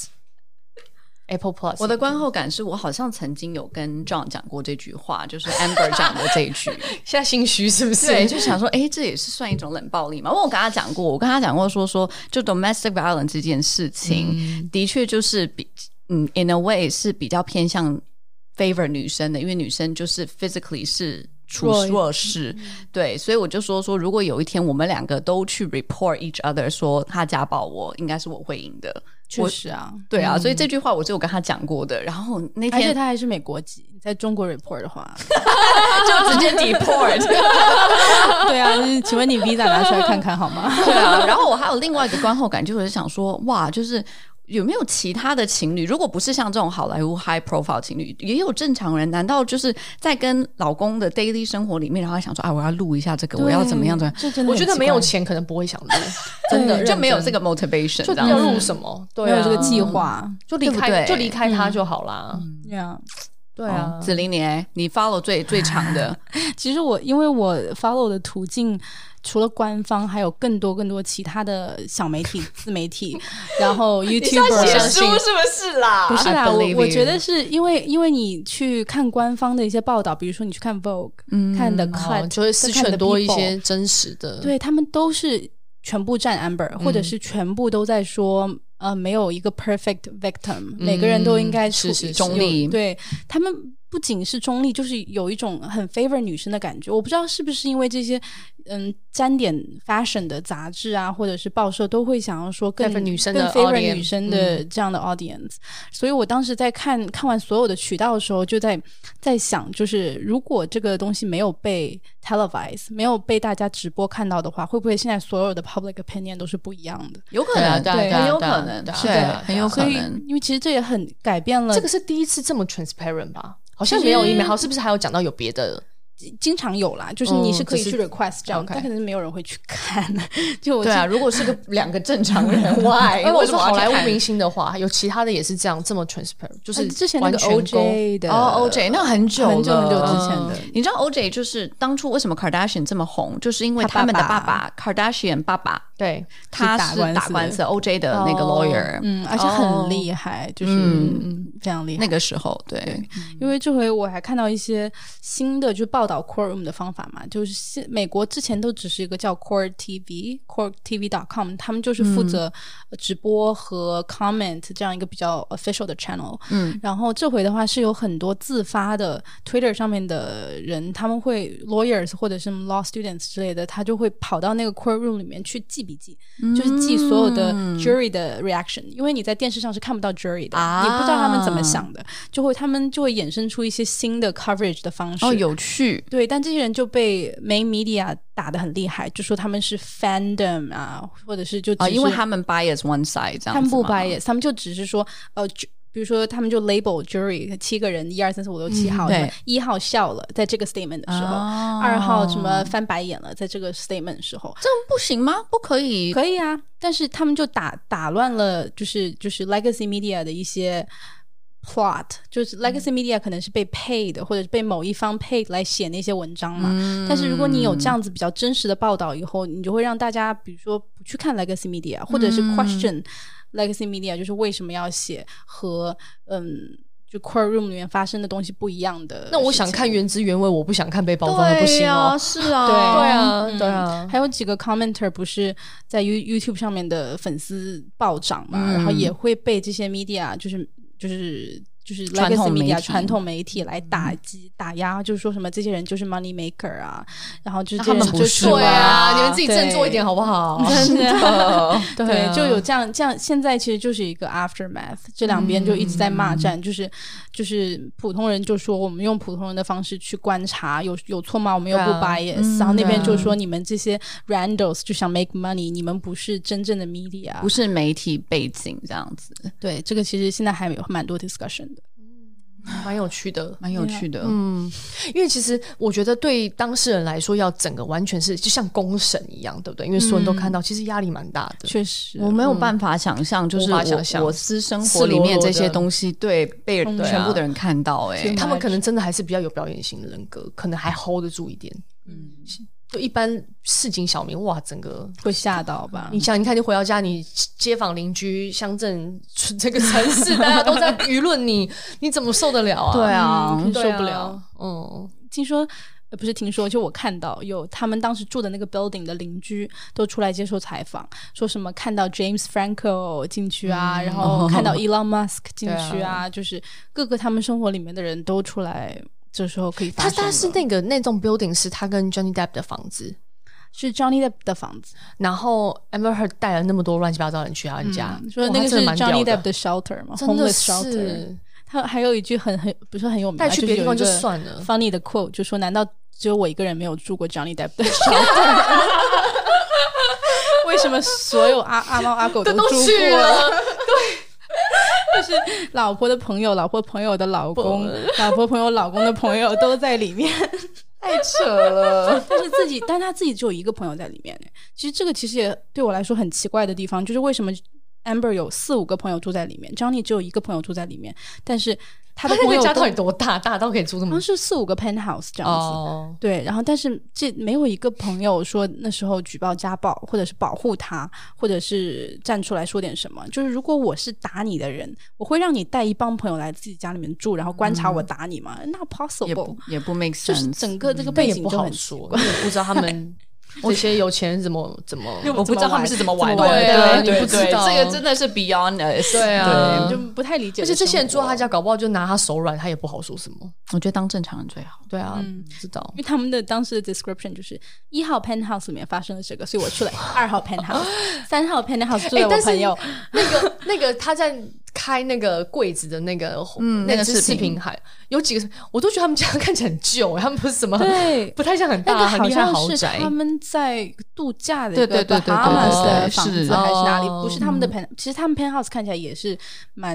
Plus。Apple Plus， 我的观后感是我好像曾经有跟 John 讲过这句话，就是 Amber 讲的这一句现在心虚是不是？ 对，就想说这也是算一种冷暴力嘛。因为我跟他讲过说就 domestic violence 这件事情的确就是in a way 是比较偏向 favor 女生的，因为女生就是 physically 是弱势对，所以我就说如果有一天我们两个都去 report each other 说他家暴我，应该是我会赢的。 确实啊， 对啊，所以这句话我就有跟他讲过的。然后那天， 而且他还是美国籍，在中国 report 的话就直接 deport 对啊，请问你 visa 拿出来看看好吗？ 对啊，然后我还有另外一个观后感，就是想说哇，就是有没有其他的情侣，如果不是像这种好莱坞 high profile 情侣，也有正常人，难道就是在跟老公的 daily 生活里面，然后想说我要录一下这个，我要怎么样的？ 我觉得没有钱可能不会想录真的就没有这个 motivation， 就要录什么没有这个计划， 就离开他就好啦。对啊， 子玲你 follow 最长的其实因为我 follow 的途径除了官方还有更多其他的小媒体自媒体然后 YouTuber 写书是不是啦？ 不是啦，我觉得是因为你去看官方的一些报道，比如说你去看 Vogue 看 The Cut， 就会失去很多一些真实的， 对，他们都是全部站 Amber，或者是全部都在说没有一个 perfect victim，每个人都应该是中立， 对，他们不仅是中立，就是有一种很 favor 女生的感觉。我不知道是不是因为这些沾点 fashion 的杂志啊，或者是报社都会想要说更 favor 女生的 favor 女生的这样的 audience，所以我当时在看完所有的渠道的时候，就在想，就是如果这个东西没有被 televise， 没有被大家直播看到的话，会不会现在所有的 public opinion 都是不一样的？ 有可能， 对， 很有可能，对，很有可能。 因为其实这也很改变了， 这个是第一次这么 transparent 吧？好像没有email，好，是不是还有讲到有别的？ 经常有啦，就是你是可以去 request 这样，但可能没有人会去看。就对啊，如果是两个正常人，why？ 如果是好莱坞明星的话，有其他的也是这样这么 transparent， 就是之前那个 OJ 的 OJ 那很久之前的。 你知道 OJ 就是当初为什么 Kardashian 这么红，就是因为他们的爸爸 Kardashian 爸爸， 对， 他是打官司 OJ 的那个 lawyer， 而且很厉害，就是非常厉害。 那个时候，对， 因为这回我还看到一些新的就报道 Courtroom 的方法嘛，就是美国之前都只是一个叫 Court TV，courttv.com， 他们就是负责直播和 comment 这样一个比较 official 的 channel。然后这回的话是有很多自发的 Twitter 上面的人，他们会 lawyers 或者是 law students 之类的，他就会跑到那个 Courtroom 里面去记笔记，就是记所有的 jury 的 reaction， 因为你在电视上是看不到 jury 的，你不知道他们怎么想的，他们就会衍生出一些新的 coverage 的方式。 有趣。 对，但这些人就被 main media 打得很厉害，就说他们是 fandom 啊，或者是就只是因为他们 bias one side 这样子， 他们不 bias， 他们就只是说比如说他们就 label jury 7个人1、2、3、4、5、6、7号， 对 1号笑了，在这个 statement 的时候，2号什么翻白眼了，在这个 statement 的时候， 这样不行吗？不可以？ 可以啊，但是他们就打乱了，就是 legacy media 的一些 plot， 就是 legacy media 可能是被 paid 或者是被某一方 paid 来写那些文章嘛，但是如果你有这样子比较真实的报道以后，你就会让大家比如说不去看 legacy media， 或者是 question legacy media 就是为什么要写和就 courtroom 里面发生的东西不一样的。 那我想看原汁原味，我不想看被包装的不行哦。 是啊， 对啊。 还有几个 commenter 不是在 YouTube 上面的粉丝暴涨嘛，然后也会被这些 media 就是 legacy media 传统媒体来打击打压，就是说什么这些人就是 money maker 啊，然后就是他们不是对啊，你们自己振作一点好不好？ 真的对， 就有这样，现在其实就是一个 aftermath， 这两边就一直在骂战，就是普通人就说我们用普通人的方式去观察，有错吗？我们又不 bias，然后那边就说你们这些 randos 就想 make money， 你们不是真正的 media， 不是媒体背景这样子。 对，这个其实现在还有蛮多 discussion 的。 蛮有趣的， 蛮有趣的。 因为其实我觉得对当事人来说，要整个完全是就像公审一样，对不对？因为所有人都看到，其实压力蛮大的。 确实， 我没有办法想象，就是我私生活里面这些东西，对被全部的人看到， 他们可能真的还是比较有表演型的人格，可能还 hold 得住一点。就一般市井小民，哇，整个会吓到吧？ 你想，你看，你回到家，你街坊邻居、乡镇这个城市，大家都在舆论你，你怎么受得了啊？ 对啊， 受不了。听说不是听说，就我看到有他们当时住的那个 building 的邻居都出来接受采访，说什么看到 James Franco 进去啊，然后看到 Elon Musk 进去啊，就是各个他们生活里面的人都出来。这时候可以发生。他是那种 building 是他跟 Johnny Depp 的房子， 是 Johnny Depp 的房子。 然后 Amber Heard 带了那么多乱七八糟的人去他家， 说那个是 Johnny Depp 的 shelter 嘛， homeless shelter。他还有一句很不是很有名， 带去别的地方就算了。 funny 的 quote 就说：“难道只有我一个人没有住过 Johnny Depp 的 shelter？ 为什么所有阿猫阿狗都住过了？”对。就是老婆的朋友，老婆朋友的老公，老婆朋友老公的朋友都在里面， 太扯了。 但他自己只有一个朋友在里面。其实这个其实也对我来说很奇怪的地方，就是为什么 Amber 有4-5个朋友住在里面 ，Johnny 只有一个朋友住在里面，但是他的朋友家到底多大？大到可以住这么？ 是4-5个 penthouse 这样子。对，然后但是这没有一个朋友说那时候举报家暴，或者是保护他，或者是站出来说点什么。就是如果我是打你的人，我会让你带一帮朋友来自己家里面住，然后观察我打你吗？Not possible， 也不 make sense。 就是整个这个背景就很说，我也不知道他们。这些有钱人怎么， 我不知道他们是怎么玩的。 对，你不知道， 这个真的是 beyond us。 对啊， 就不太理解。 而且这些人住到他家，搞不好就拿他手软，他也不好说什么。 我觉得当正常人最好。 对啊，知道。 因为他们的当时的 description 就是1号 penthouse 里面发生了这个，所以我去了2号 penthouse， 3号 penthouse 住了我朋友。 那个他在开那个柜子的那个那个视频还有几个，我都觉得他们家看起来很旧，他们不是什么不太像很大很厉害豪宅。 他们在度假的一个 Bahamas 的房子还是哪里？不是他们的 penthouse， 其实他们 penthouse 看起来也是蛮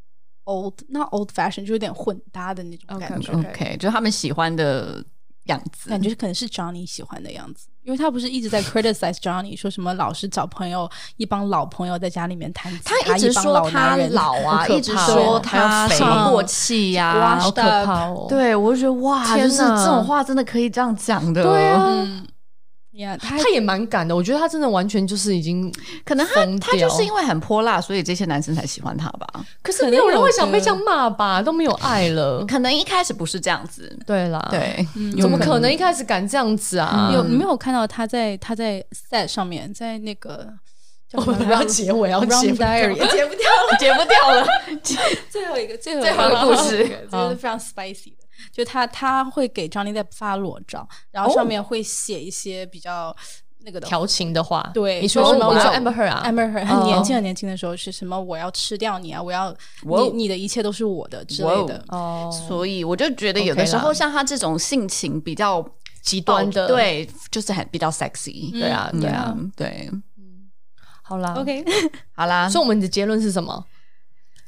old fashion， 就有点混搭的那种感觉。 OK， 就是他们喜欢的样子， 感觉可能是 Johnny 喜欢的样子，因为他不是一直在 criticize Johnny， 说什么老是找朋友，一帮老朋友在家里面弹吉他， 他一直说他老啊，一直说他什么过气呀， 好可怕哦！ 对，我就觉得哇，就是这种话真的可以这样讲的， 对啊。 他也蛮敢的，我觉得他真的完全就是已经可能他就是因为很泼辣，所以这些男生才喜欢他吧。 可是没有人会想被这样骂吧，都没有爱了。 可能一开始不是这样子， 对啦， 对， 怎么可能一开始敢这样子啊？ 你没有看到他在 set 上面，在那个我们不要结尾，要结不掉了， 结不掉了。 最后一个故事， 这是非常 spicy 的。就他会给 Johnny Depp 发裸照，然后上面会写一些比较那个的调情的话。 对， 你说什么？我说 Amber Heard 啊 ，Amber Heard 很年轻的时候是什么？我要吃掉你啊！我要你的一切都是我的之类的。 所以我就觉得有的时候像他这种性情比较极端的， 对，就是比较 sexy。 对啊，对啊， 对。 好啦 ，OK， 好啦。 所以我们的结论是什么？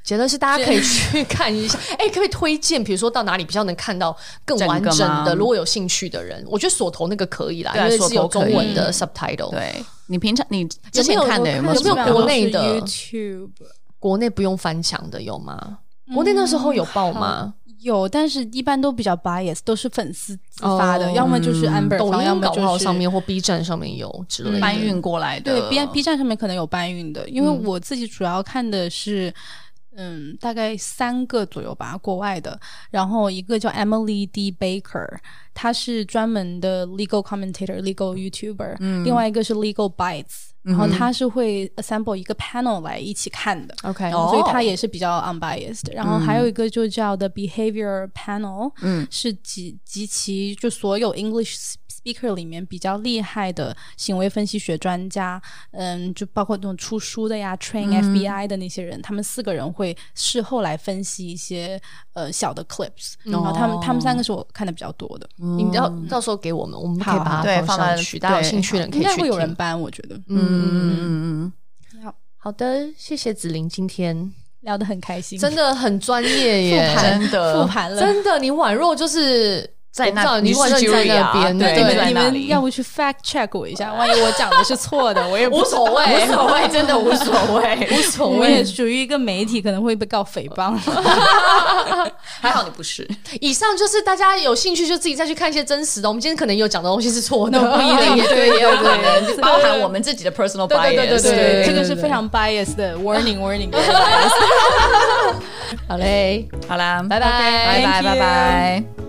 结论是大家可以去看一下。可不可以推荐，比如说到哪里比较能看到更完整的？如果有兴趣的人，我觉得锁头那个可以啦，因为是有中文的 subtitle。 对，你平常你之前看的有没有国内的 YouTube？ 国内不用翻墙的有吗？国内那时候有报吗？ 有，但是一般都比较 bias， 都是粉丝自发的，要么就是 Amber 抖方，要么就是上面或 B 站上面有之类的搬运过来的。 对 ，B 站上面可能有搬运的，因为我自己主要看的是。大概3个左右吧，国外的。然后一个叫 Emily D. Baker， 她是专门的 legal commentator、legal YouTuber。另外一个是 Legal Bites，然后她是会 assemble 一个 panel 来一起看的。 OK， 所以她也是比较 unbiased。然后还有一个就叫 The Behavior Panel，是集齐就所有 English speaker 里面比较厉害的行为分析学专家，就包括那种出书的呀、train FBI 的那些人，他们4个人会事后来分析一些小的 clips，然后他们3个是我看的比比较多的。 你到时候给我们可以把它放上去，大家有兴趣的人可以去听。 应该会有人搬，我觉得。 好的，谢谢子琳，今天聊得很开心， 真的很专业耶， 真的复盘了， 真的，你宛若就是在那， 你宛若在那边， 对，你们要不去 fact check 我一下，万一我讲的是错的，我也无所谓， 无所谓，真的无所谓， 无所谓。 我也属于一个媒体，可能会被告诽谤。 还好你不是。 以上就是大家有兴趣就自己再去看一些真实的。我们今天可能有讲的东西是错的， 不一定， 对，也有可能包含我们自己的 personal bias。 对，这个是非常 bias 的 warning。 好嘞， 好啦， 拜拜， 拜拜。